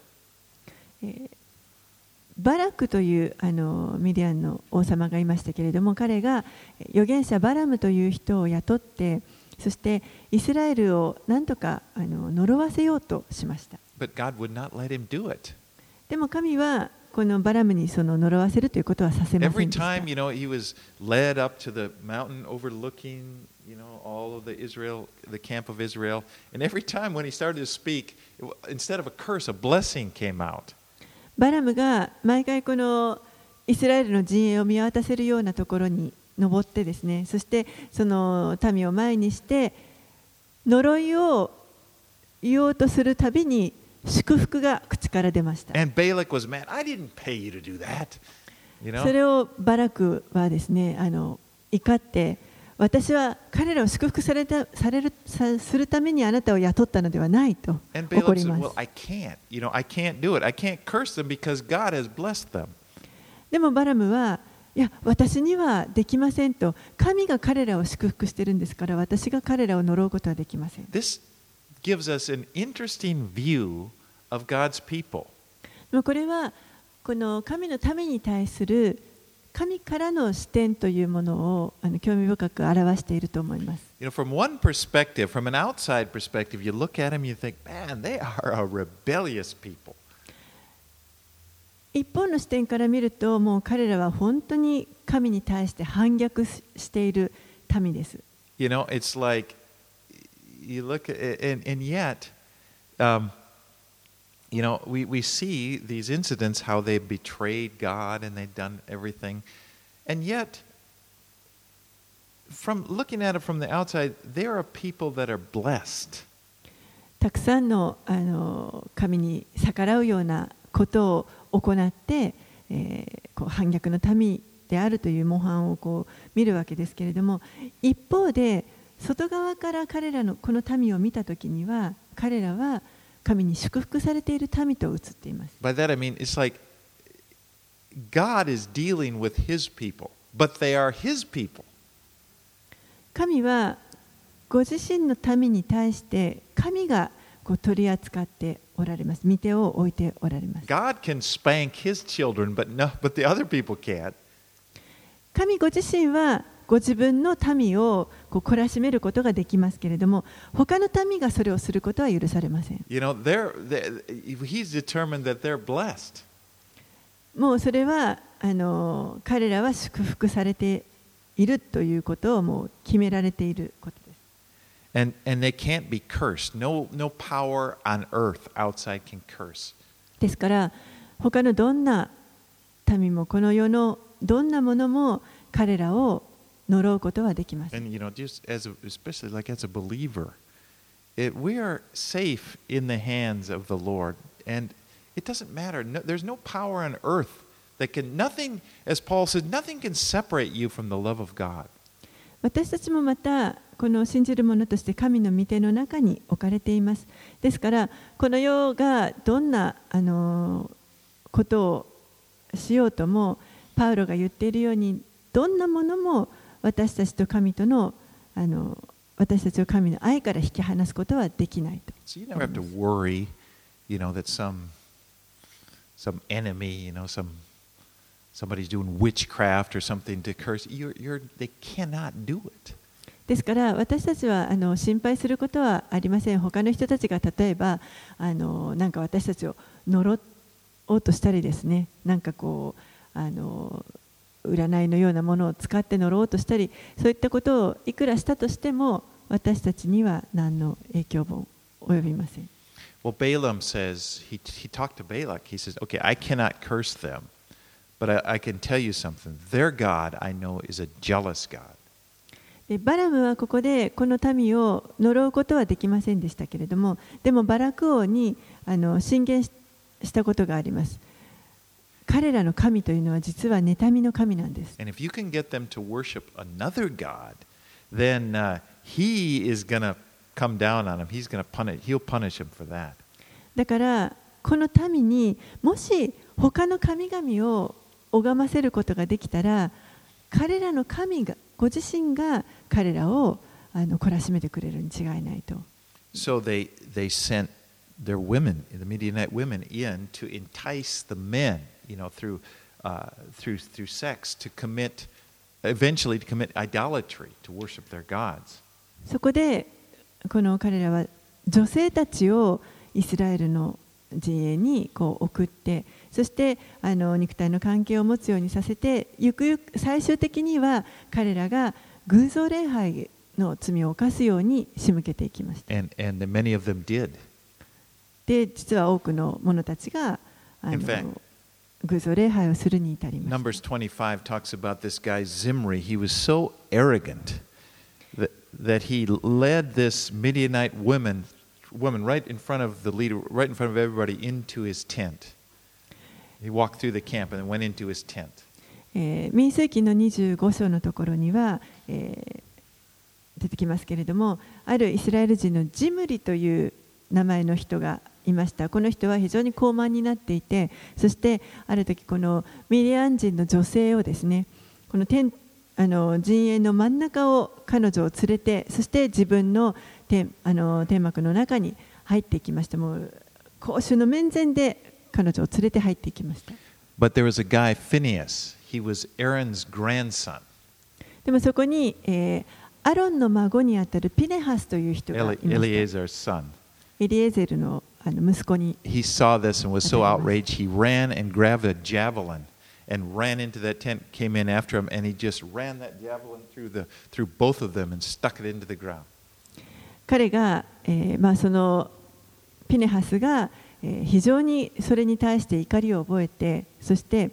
バラクというあのミディアンの王様がいましたけれども、彼が預言者バラムという人を雇って、そしてイスラエルを何とかあの呪わせようとしました。 But God would not let him do it. でも神はこのバラムにその呪わせるということはさせませんでした。 Every time, you know, he was led up to the mountain overlooking, you know, all of the Israel, the camp of Israel. And every time when he started to speak, it, instead of a curse, a blessing came out. バラムが毎回このイスラエルの陣営を見渡せるようなところに登ってですね、そしてその民を前にして呪いを言おうとするたびに祝福が口から出ました。 And Balak was mad. I didn't pay you to do that. You know? それをバラクはですね、あの怒って、私は彼らを祝福されたされるさするためにあなたを雇ったのではないと怒ります。 Well, I can't. You know, I can't do it. I can't curse them because God has blessed them. でもバラムは、いや、私にはできませんと。神が彼らを祝福しているんですから、私が彼らを呪うことはできません。 This gives us an interesting view of God's people. これはこの神のために対する神からの視点というものをあの興味深く表していると思います。 You know, from one perspective, from an outside perspective, you look at them, you think, man, they are a rebellious people. 一方の視点から見ると、もう彼らは本当に神に対して反逆している民です。 You know, it's like you look at and, and yet, um, you know, we, we see these incidents how they betrayed God and they've done everything. And yet, from looking at it from the outside, there are people that are blessed. たくさんの、あの神に逆らうようなことを行って、えー、こう反逆の民であるという模範をこう見るわけですけれども、一方で外側から彼らのこの民を見たときには、彼らは神に祝福されている民と映っています。 By that I mean it's like God is dealing with His people, but they are His people. 神はご自身の民に対して神がこう取り扱っておられます。御手を置いておられます。 God can spank His children, but no, but the other people can't. 神ご自身はご自分の民をこう懲らしめることができますけれども、他の民がそれをすることは許されません。 You know, they're, they're, he's determined that they're blessed. もうそれはあの彼らは祝福されているということをもう決められていることです。 And, and they can't be cursed. No, no power on earth outside can curse. ですから他のどんな民もこの世のどんなものも彼らを呪うことはできません。 And you know, just as a, especially like as a believer, it, we are safe in the hands of the Lord, and it doesn't matter. No, there's no power on earth that can nothing, as Paul says, nothing can separate you from the love of God. 私たちもまたこの信じる者として神の御手の中に置かれています。ですからこの世がどんなあのことをしようとも、パウロが言っているように、どんなものも私たちと神とのあの私たちを神の愛から引き離すことはできないと。 So you never have to worry, you know, that some some enemy, you know, some somebody's doing witchcraft or something to curse. You're, you're, they cannot do it. ですから私たちはあの心配することはありません。他の人たちが例えばあのなんか私たちを呪おうとしたりですね、なんかこうあの占いのようなものを使って呪おうとしたり、そういったことをいくらしたとしても私たちには何の影響も及びません。 Well, Balaam says, he, he talked to Balak. He says, okay, I cannot curse them, but I, I can tell you something. Their God, I know, is a jealous God. でバラムはここでこの民を呪うことはできませんでしたけれども、でもバラク王にあの進言したことがあります。彼らの神というのは実は妬みの神なんです。 And if you can get them to worship another God, then uh, he is going to come down on him. He's going to punish, he'll punish him for that. だからこの民にもし他の神々を拝ませることができたら、彼らの神がご自身が彼らをあの懲らしめてくれるに違いないと。 So they, they sent their women, the Midianite women, in to entice the men, you know, through, uh, through, through sex to commit, eventually to commit idolatry, to worship their gods. そこでこの彼らは女性たちをイスラエルの陣営にこう送って、そしてあの肉体の関係を持つようにさせて、ゆくゆく最終的には彼らが偶像礼拝の罪を犯すように仕向けていきました。 And, and many of them did. で、実は多くの者たちがあ In の fact, 偶像礼拝をするに至りました。 Numbers twenty-five talks about this guy Zimri. He was so arrogant that, that he led this Midianite woman, woman right in front of the leader, right in front of everybody, into his tent. He walked through the camp and then went into his tent. えー民数記のにじゅうご章のところには、えー出てきますけれども、あるイスラエル人のジムリという名前の人がいました。この人は非常に高慢になっていて、そしてある時このミディアン人の女性をですね、この天あの陣営の真ん中を彼女を連れて、そして自分の天あの天幕の中に入っていきました。もう公衆の面前で彼女を連れて入っていきました。 But there was a guy, Phineas. He was Aaron's grandson. でもそこに、えーアロンの孫にあたるピネハスという人がいました。 Eleazar's son. エリエゼルのあの息子に。 He saw this and was so outraged, he ran and grabbed a javelin and ran into that tent, came in after him, and he just ran that javelin through, the, through both of them and stuck it into the ground. 彼が、えーまあ、そのピネハスが、えー、非常にそれに対して怒りを覚えて、そして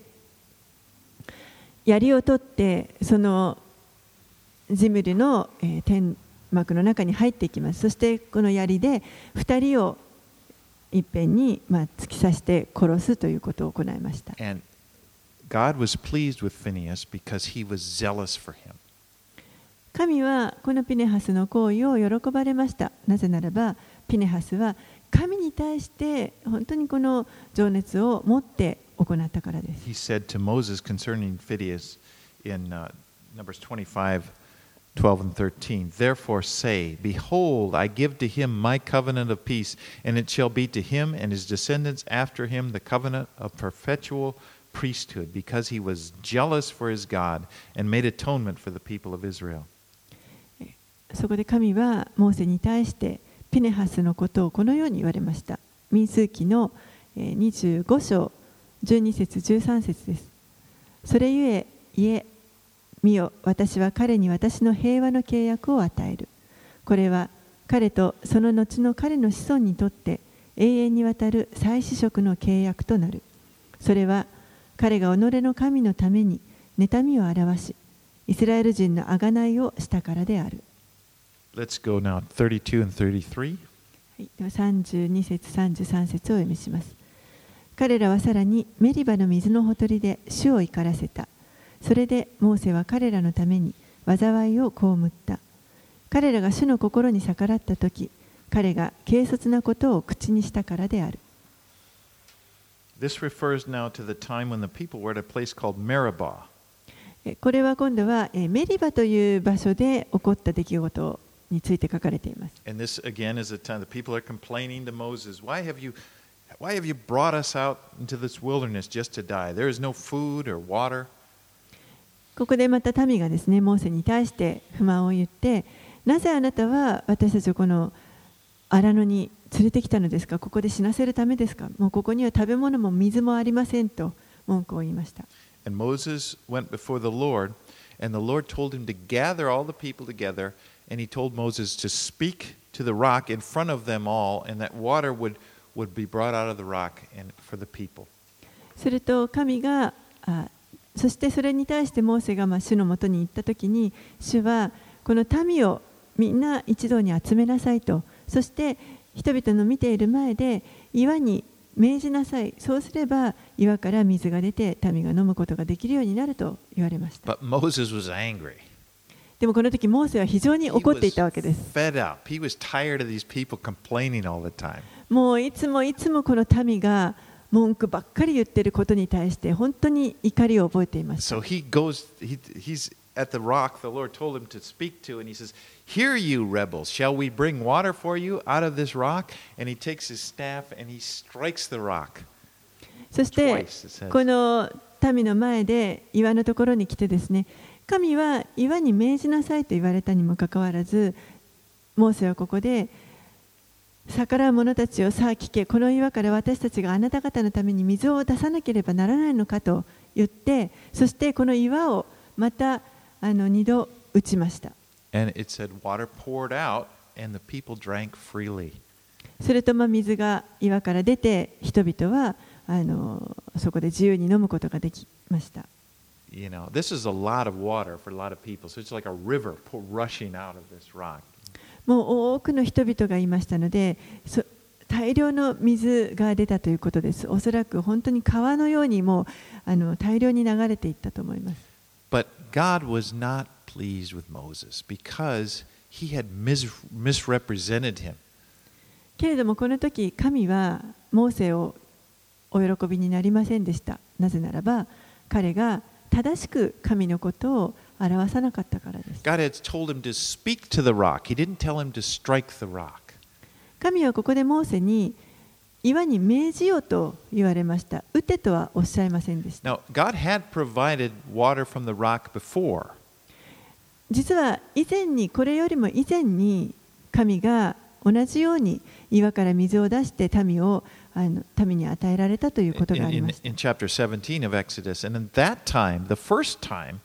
槍を取ってそのジムリの、えー、天幕の中に入っていきます。そしてこの槍でふたりをいっぺんに、まあ、突き刺して殺すということを行いました。 And God was pleased with Phineas because he was zealous for him. 神はこのピネハスの行為を喜ばれました。なぜならばピネハスは神に対して本当にこの情熱を持って行ったからです。 He said to Moses concerning Phineas in uh, Numbers twenty-five, twelve and thirteen, Therefore say, Behold, I give to him my covenant of peace, and it shall be to him and his descendants after him the covenant of perpetual priesthood, because he was jealous for his God and made atonement for the people of Israel. そこで神はモーセに対してピネハスのことをこのように言われました。民数記のにじゅうご章じゅうに節じゅうさん節です。それゆえ、いえ、見よ、私は彼に私の平和の契約を与える。これは彼とその後の彼の子孫にとって永遠にわたる再子息の契約となる。それは彼が己の神のために妬みを表し、イスラエル人の贖いをしたからである。 Let's go now thirty-two and thirty-three. はい、ではさんじゅうに節さんじゅうさん節をお読みします。彼らはさらにメリバの水のほとりで主を怒らせた。それでモーセは彼らのために災いを被った。彼らが主の心に逆らったとき、彼が軽率なことを口にしたからである。 This refers now to the time when the people were at a place called Meribah. これは今度はメリバという場所で起こった出来事について書かれています。 And this again is a time the people are complaining to Moses, Why have you, why have you brought us out into this wilderness just to die? There is no food or water. ここでまた民がですね、モーセに対して不満を言って、なぜあなたは私たちをこの荒野に連れてきたのですか？ここで死なせるためですか？もうここには食べ物も水もありませんと文句を言いました。 And Moses went before the Lord, and the Lord told him to gather all the people together, and he told Moses to speak to the rock in front of them all, and that water would, would be brought out of the rock and for the people. すると神があそしてそれに対してモーセがまあ主のもとに行ったときに、主はこの民をみんな一堂に集めなさいと、そして人々の見ている前で岩に命じなさい。そうすれば岩から水が出て民が飲むことができるようになると言われました。 But Moses was angry. でもこの時モーセは非常に怒っていたわけです。 He was fed up. He was tired of these people complaining all the time. もういつもいつもこの民が文句ばっかり言っていることに対して本当に怒りを覚えていました。 So he goes, he, he's at the rock the Lord told him to speak to, and he says, Hear you rebels, shall we bring water for you out of this rock? And he takes his staff and he strikes the rock. そしてこの民の前で岩のところに来てですね、神は岩に命じなさいと言われたにもかかわらず、モーセはここで逆らう者たちをさあ聞け、この岩から私たちがあなた方のために水を出さなければならないのかと言って、そしてこの岩をまたあの二度打ちました。 And it said water poured out, and the people drank freely. するとまあ水が岩から出て、人々はあのそこで自由に飲むことができました。 You know, this is a lot of water for a lot of people. So it's like a river pour, rushing out of this rock. もう多くの人々がいましたので、そ大量の水が出たということです。おそらく本当に川のようにもうあの大量に流れていったと思います。 But God was not pleased with Moses because he had mis- misrepresented him. けれどもこの時神はモーセをお喜びになりませんでした。なぜならば彼が正しく神のことを表さなかったからです。 God had told him to speak to the rock. He didn't tell him to strike the rock. 神はここでモーセに岩に命じようと言われました。打てとはおっしゃいませんでした。 Now, God had provided water from the rock before. 実は以前にこれよりも以前に神が同じように岩から水を出して民をあの民に与えられたということがありました。 In, in, in chapter seventeen of Exodus, and in that time, the first time,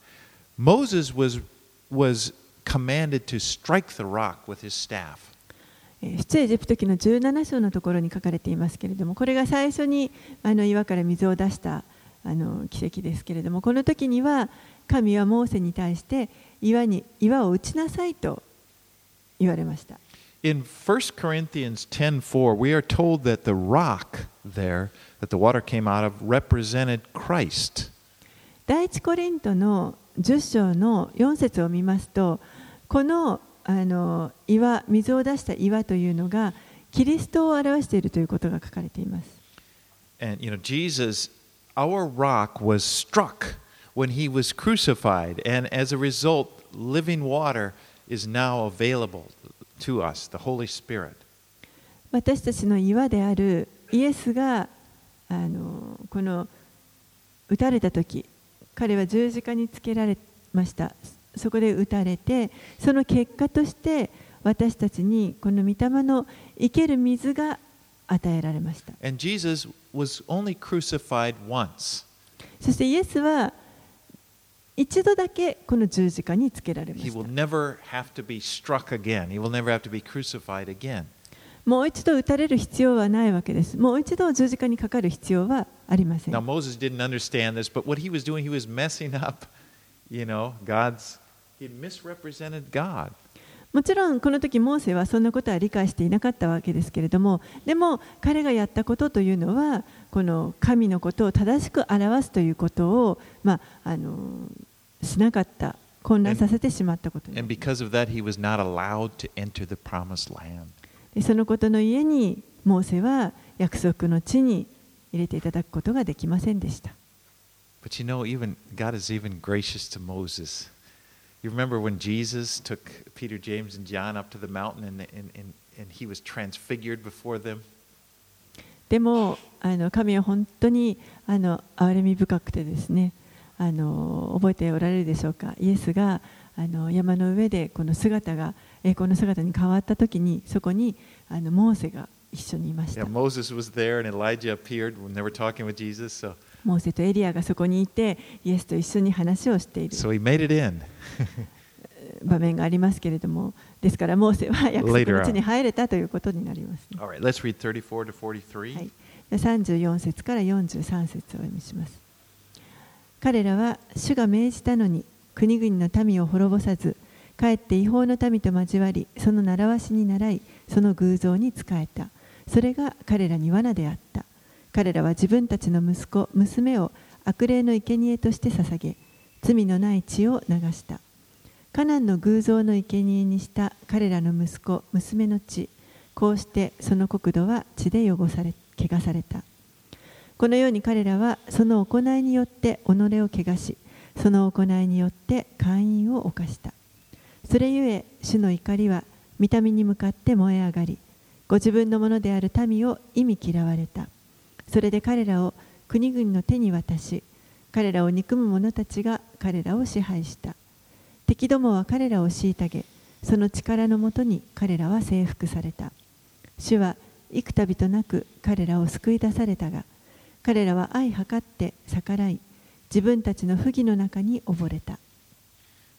Moses was was commanded to strike the rock with his staff. 出エジプト記のじゅうなな章のところに書かれていますけれども、これが最初にあの岩から水を出したあの奇跡ですけれども、この時には神はモーセに対して岩に岩を打ちなさいと言われました。 In First Corinthians ten four, we are told that the rock there that the water came out of represented Christ. 第一コリントのじゅっ章のよん節を見ますと、このあの岩、水を出した岩というのがキリストを表しているということが書かれています。 And you know, Jesus, our rock was struck when he was crucified, and as a result, living water is now available to us, the Holy Spirit. 私たちの岩であるイエスがあのこの打たれた時、彼は十字架につけられました。そこで打たれて、その結果として私たちにこの御霊の生ける水が与えられました。 And Jesus was only crucified once. そしてイエスは一度だけこの十字架につけられまし He た。 will never have to be struck again. He will never have to be crucified again. もう一度打たれる必要はないわけです。もう一度十字架にかかる必要はありません。 Now Moses didn't understand this, but what he was doing, he was messing up, you know, God's, he misrepresented God. もちろんこの時モーセはそんなことは理解していなかったわけですけれども、でも彼がやったことというのはこの神のことを正しく表すということを、まあ、あのしなかった、混乱させてしまったことです。 And because of that, he was not allowed to enter the promised land. でそのことのゆえにモーセは約束の地に入れていただくことができませんでした。 But you know, even God is even gracious to Moses. You remember when Jesus took Peter, James, and John up to the mountain, and, and, and, and he was transfigured before them? でもあの神は本当にあの憐れみ深くてですね、あの覚えておられるでしょうか。イエスがあの山の上でこの姿が栄光の姿に変わったときに、そこにあのモーセが一緒にいました。 Yeah, Moses was there, and Elijah appeared when they were talking with Jesus. So, モーセとエリアがそこにいて、イエスと一緒に話をしている so he made it in. 場面がありますけれども、ですからモーセは約束の地に入れたということになります、ね。 All right, let's read thirty-four to forty-three. はい、さんじゅうよん節からよんじゅうさん節をお読みします。彼らは主が命じたのに国々の民を滅ぼさず、かえって違法の民と交わり、その習わしに倣い、その偶像に仕えた。それが彼らに罠であった。彼らは自分たちの息子、娘を悪霊の生贄として捧げ、罪のない血を流した。カナンの偶像の生贄にした彼らの息子、娘の血、こうしてその国土は血で汚され、汚された。このように彼らはその行いによって己を汚し、その行いによって姦淫を犯した。それゆえ主の怒りは御民に向かって燃え上がり、ご自分のものである民を忌み嫌われた。それで彼らを国々の手に渡し、彼らを憎む者たちが彼らを支配した。敵どもは彼らを虐げ、その力のもとに彼らは征服された。主は幾度となく彼らを救い出されたが、彼らは相計って逆らい、自分たちの不義の中に溺れた。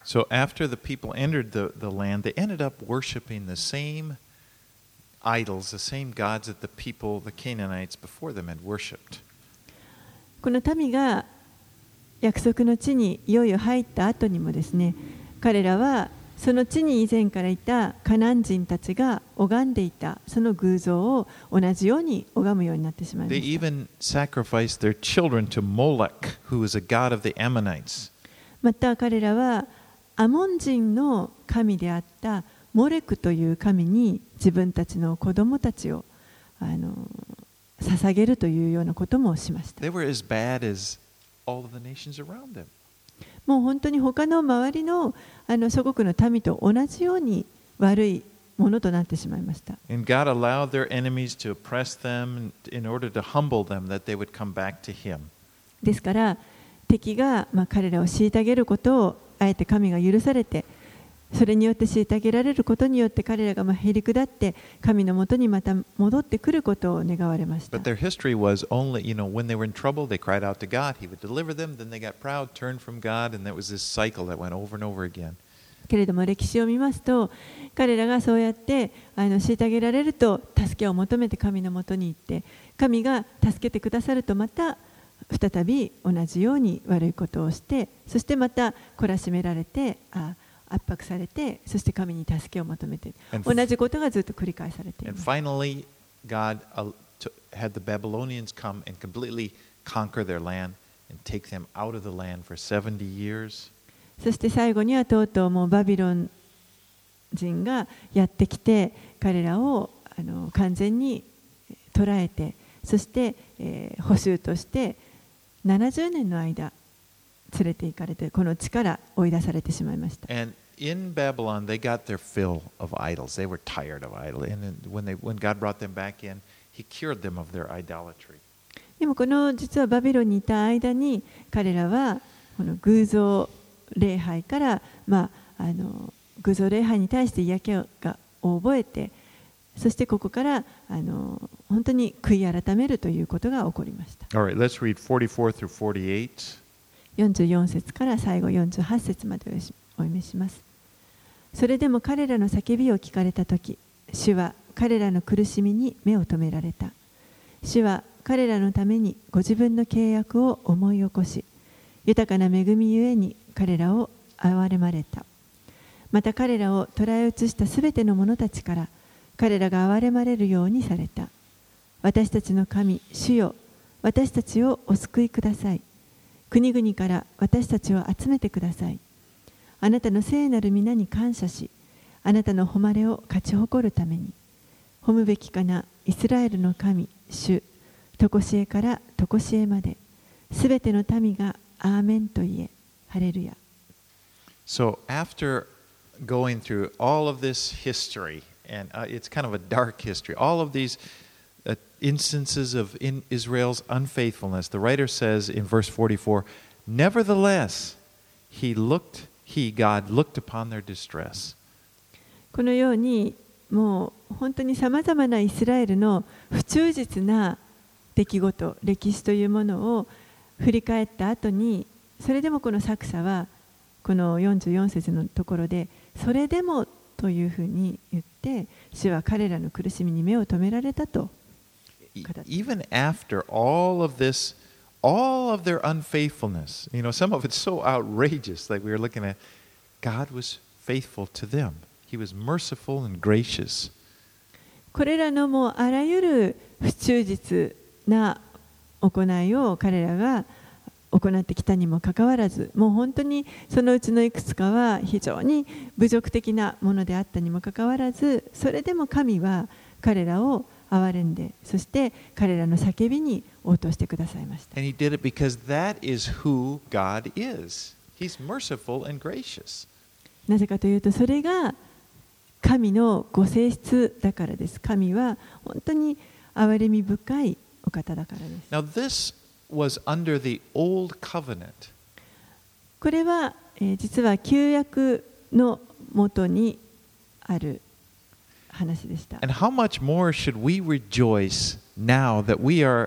So after the people entered the, the land, they ended up worshiping the same idols, the same gods that the people, the Canaanites before them had worshipped. この民が約束の地にいよいよ入った後にもですね、彼らはその地に以前からいたカナン人たちが拝んでいたその偶像を同じように拝むようになってしまいま They した。 even sacrificed their children to Molech, who was a god of the Ammonites. また彼らはアモン人の神であったモレクという神に自分たちの子供たちをあの捧げるというようなこともしました。 They were as bad as all of the nations around them. もう本当に他の周りのあの諸国の民と同じように悪いものとなってしまいました。 And God allowed their enemies to oppress them in order to humble them, that they would come back to Him. ですから敵がまあ彼らを虐げることをあえて神が許されて、それによって虐げられることによって彼らがまあへり下って神のもとにまた戻ってくることを願われました。 But their history was only, you know, when they were in trouble, they cried out to God. He would deliver them. Then they got proud, turned from God, and that was this cycle that went over and over again. けれども歴史を見ますと、彼らがそうやってあの虐げられると助けを求めて神のもとに行って、神が助けてくださるとまた再び同じように悪いことをして、そしてまた懲らしめられて、あ圧迫されて、そして神に助けを求めて、同じことがずっと繰り返されています。 And finally, God uh, to, had the Babylonians come and completely conquer their land and take them out of the land for seventy years. そして最後にはとうとうもうバビロン人がやってきて、彼らをあの完全に捕らえて、そして、えー、捕囚としてななじゅうねんの間連れて行かれて、この地から追い出されてしまいました。 And in Babylon, they got their fill of idols. They were tired of idols. And then when, they, when God brought them back in, He cured them of their idolatry. でもこの実はバビロンにいた間に彼らはこの偶像礼拝から、まあ、あの偶像礼拝に対して嫌気が覚えて、そしてここからあの本当に悔い改めるということが起こりました。 All right, let's read forty-four through forty-eight. よんじゅうよん節から最後よんじゅうはち節までお読みします。それでも彼らの叫びを聞かれたとき、主は彼らの苦しみに目を留められた。主は彼らのためにご自分の契約を思い起こし、豊かな恵みゆえに彼らを憐れまれた。また彼らを捕らえ移したすべての者たちから彼らが憐れまれるようにされた。私たちの神、主よ、私たちをお救いください。国々から私たちを集めてください。あなたの聖なる皆に感謝し、あなたの誉れを勝ち誇るために、褒むべきかなイスラエルの神、主、とこしえからとこしえまで、すべての民がアーメンと言え、ハレルヤ。 So after going through all of this history, and uh, it's kind of a dark history, all of these uh, instances of in Israel's unfaithfulness, the writer says in verse forty-four, nevertheless, he looked, he, God, looked upon their distress. このようにもう本当にさまざまなイスラエルの不忠実な出来事、歴史というものを振り返った後に、それでもこの作者はこのよんじゅうよん節のところで、それでもというふうに言って、主は彼らの苦しみに目を留められたと。 Even after all of this, all of their unfaithfulness, you know, some of it's so outrageous, like we were looking at, God was faithful to them. He was merciful and gracious. これらのもうあらゆる不忠実な行いを彼らが行ってきたにもかかわらず、もう本当にそのうちのいくつかは非常に侮辱的なものであったにもかかわらず、それでも神は彼らを憐れんで、そして彼らの叫びに応答してくださいました。 And he did it because that is who God is. He's merciful and gracious. なぜかというと、それが神のご性質だからです。神は本当に憐れみ深いお方だからです。 Now this was under the old covenant. これは、えー、実は旧約のもとにある話でした。 And how much more should we rejoice now that we are,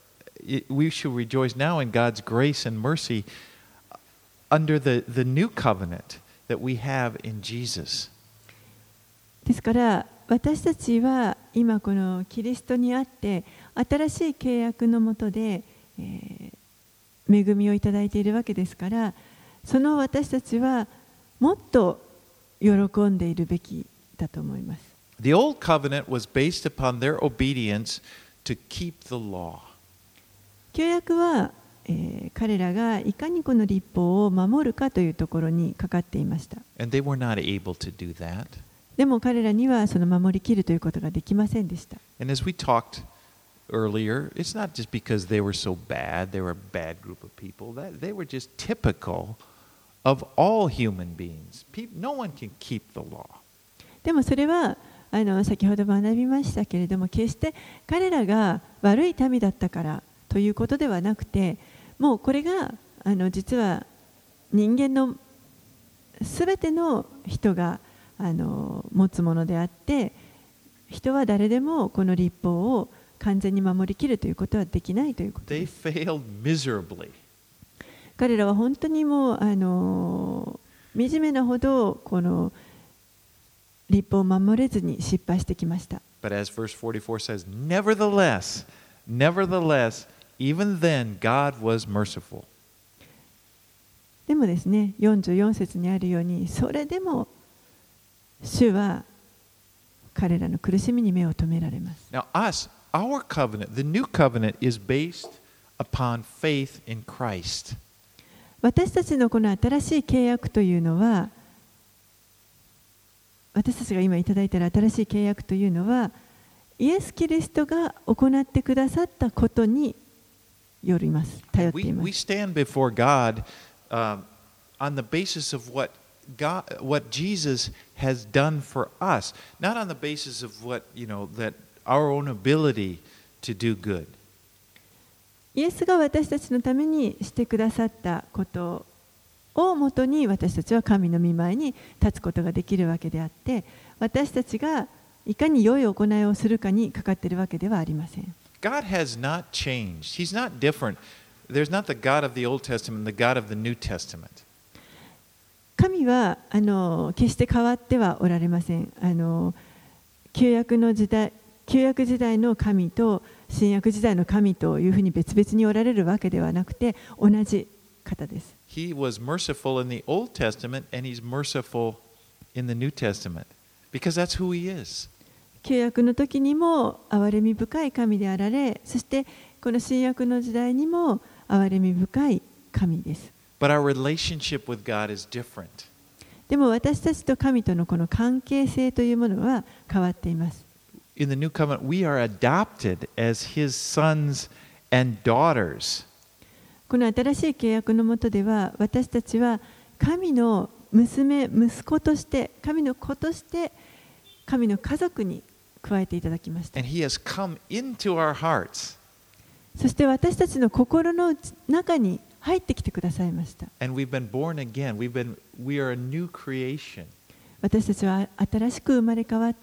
we should rejoice now in God's grace and mercy under the, the new covenant, that we have in Jesus. ですから私たちは今このキリストにあって新しい契約のもとで、えー、恵みをいただいているわけですから、その私たちはもっと喜んでいるべきだと思います。 The old covenant was based upon their obedience to keep the law. 旧約は、えー、彼らがいかにこの律法を守るかというところにかかっていました。 And they were not able to do that. でも彼らにはその守りきるということができませんでした。 And as we talked earlier, it's not just because they were so bad, they were a bad group of people, that they were just typical of all human beings. No one can keep the law. でもそれはあの先ほど学びましたけれども、決して彼らが悪い民だったからということではなくて、もうこれがあの実は人間のすべての人があの持つものであって、人は誰でもこの律法を完全に守りきるということはできないということです。 They failed miserably. 彼らは本当にもうあの惨めなほどこの律法を守れずに失敗してきました。 But as verse forty-four says, nevertheless, nevertheless, even then God was merciful. でもですね、よんじゅうよん節にあるように、それでも主は彼らの苦しみに目を留められます。 Now us, our covenant, the new covenant is based upon faith in Christ. 私たちのこの新しい契約というのは、私たちが今いただいている新しい契約というのは、イエス・キリストが行ってくださったことによります。頼っています。 We, we stand before God, um, on the basis of what God, what Jesus has done for us, not on the basis of what, you know, that our own ability to do good. イエスが私たちのためにしてくださったことをもとに私たちは神の御前に立つことができるわけであって、私たちがいかに良い行いをするかにかかっているわけではありません。 God has not changed. He's not different. There's not the God of the Old Testament, the God of the New Testament. 神はあの決して変わってはおられません。あの旧約の時代、旧約時代の神と新約時代の神というふうに別々におられるわけではなくて、同じ方です。 He was merciful in the Old Testament and he's merciful in the New Testament because that's who he is. 旧約の時にも憐れみ深い神であられ、そしてこの新約の時代にも憐れみ深い神です。 But our relationship with God is different. でも私たちと神とのこの関係性というものは変わっています。 In the New Covenant, we are adopted as his sons and daughters. この新しい契約の下では、私たちは神の娘、息子として、神の子として、神の家族に加えていただきました。 And he has come into our hearts. そして私たちの心の中に入ってきてくださいました。 And we've been born again. We've been, we are a new creation. 私たちは新しく生まれ変わって、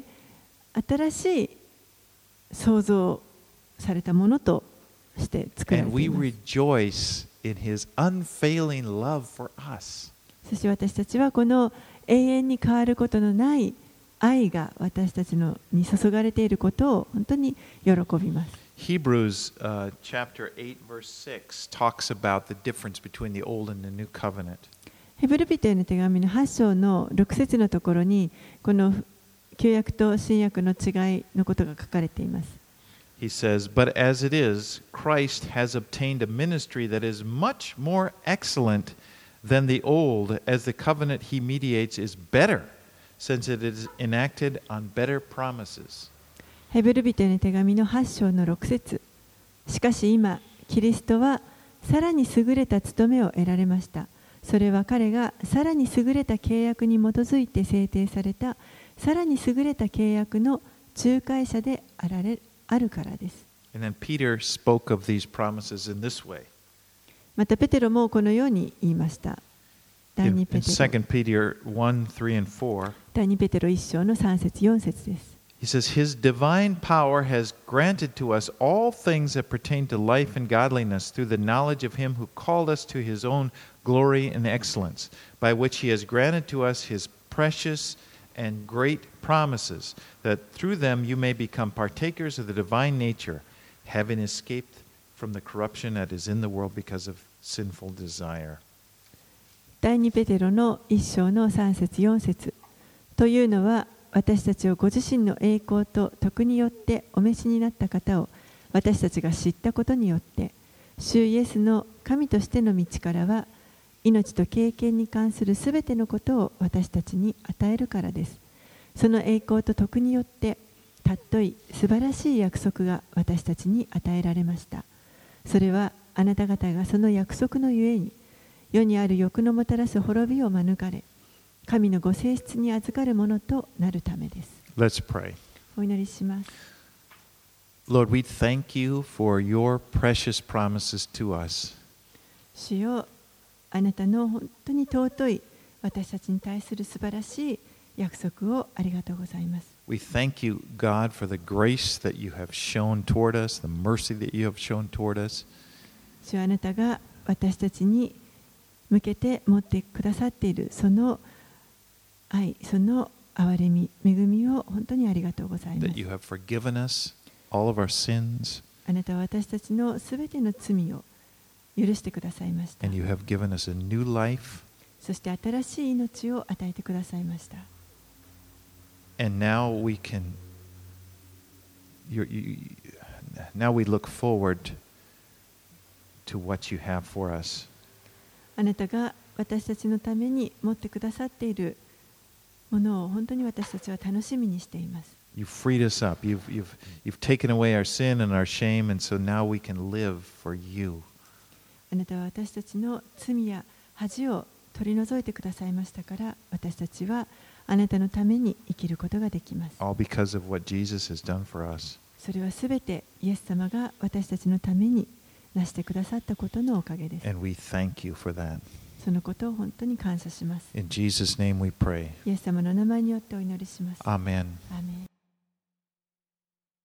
新しい創造されたものとして作られ And てい we ます。 rejoice in his unfailing love for us. そして私たちはこの永遠に変わることのない愛が私たちのに注がれていることを本当に喜びます。 Hebrews uh, chapter eight verse six talks about the difference between the old and the new covenant. ヘブル人への手紙のはち章のろく節のところにこの旧約と新約の違いのことが書かれています。 He says, "But as it is, Christ has obtained a ministry that is much more excellent than the old, as the covenant he mediates is better, since it is enacted on better promises." ヘブル人への手紙のはち章のろく節。しかし今、キリストはさらに優れた務めを得られました。それは彼がさらに優れた契約に基づいて制定されたさらに優れた契約の仲介者であられあるからです。 And then Peter spoke of these promises in this way. またペテロもこのように言いました。第 In, 二 in ペテロ Second Peter one, three, and four, 第二ペテロいち章のさん節よん節です。 He says, His divine power has granted to us all things that pertain to life and godliness through the knowledge of Him who called us to His own glory and excellence, by which He has granted to us His precious and great promises, that through them you may become partakers of the divine nature, having escaped from the corruption that is in the world because of sinful desire. 第二ペテロの一章の三節四節というのは、私たちをご自身の栄光と徳によってお召しになった方を私たちが知ったことによって、主イエスの神としての道からは命と経験に関するすべてのことを私たちに与えるからです。その栄光と徳によってたっとい素晴らしい約束が私たちに与えられました。それはあなた方がその約束のゆえに世にある欲のもたらす滅びを免れ、神のご性質に預かるものとなるためです。 Let's pray. お祈りします。 Lord, we thank you for your precious promises to us. 主よ、あなたの本当に尊い私たちに対する素晴らしい約束をありがとうございます。 We thank you, God, for the grace that you have shown toward us, the mercy that you have shown toward us. 主よ、あなたが私たちに向けて持ってくださっているその愛、その憐れみ、恵みを本当にありがとうございます。 That you have forgiven us all of our sins. あなたは私たちのすべての罪を許してくださいました。 And you have given us a new life. そして新しい命を与えてくださいました。 And now we can, you, you, now we look forward to what you have for us. あなたが私たちのために持ってくださっているものを本当に私たちは楽しみにしています。 You freed us up. You've, you've, you've taken away our sin and our shame, and so now we can live for you. あなたは私たちの罪や恥を取り除いてくださいましたから、私たちはあなたのために生きることができます。 All because of what Jesus has done for us. それはすべてイエス様が私たちのためになしてくださったことのおかげです。 And we thank you for that. そのことを本当に感謝します。 In Jesus' name we pray. イエス様の名前によってお祈りします。 Amen. アーメン。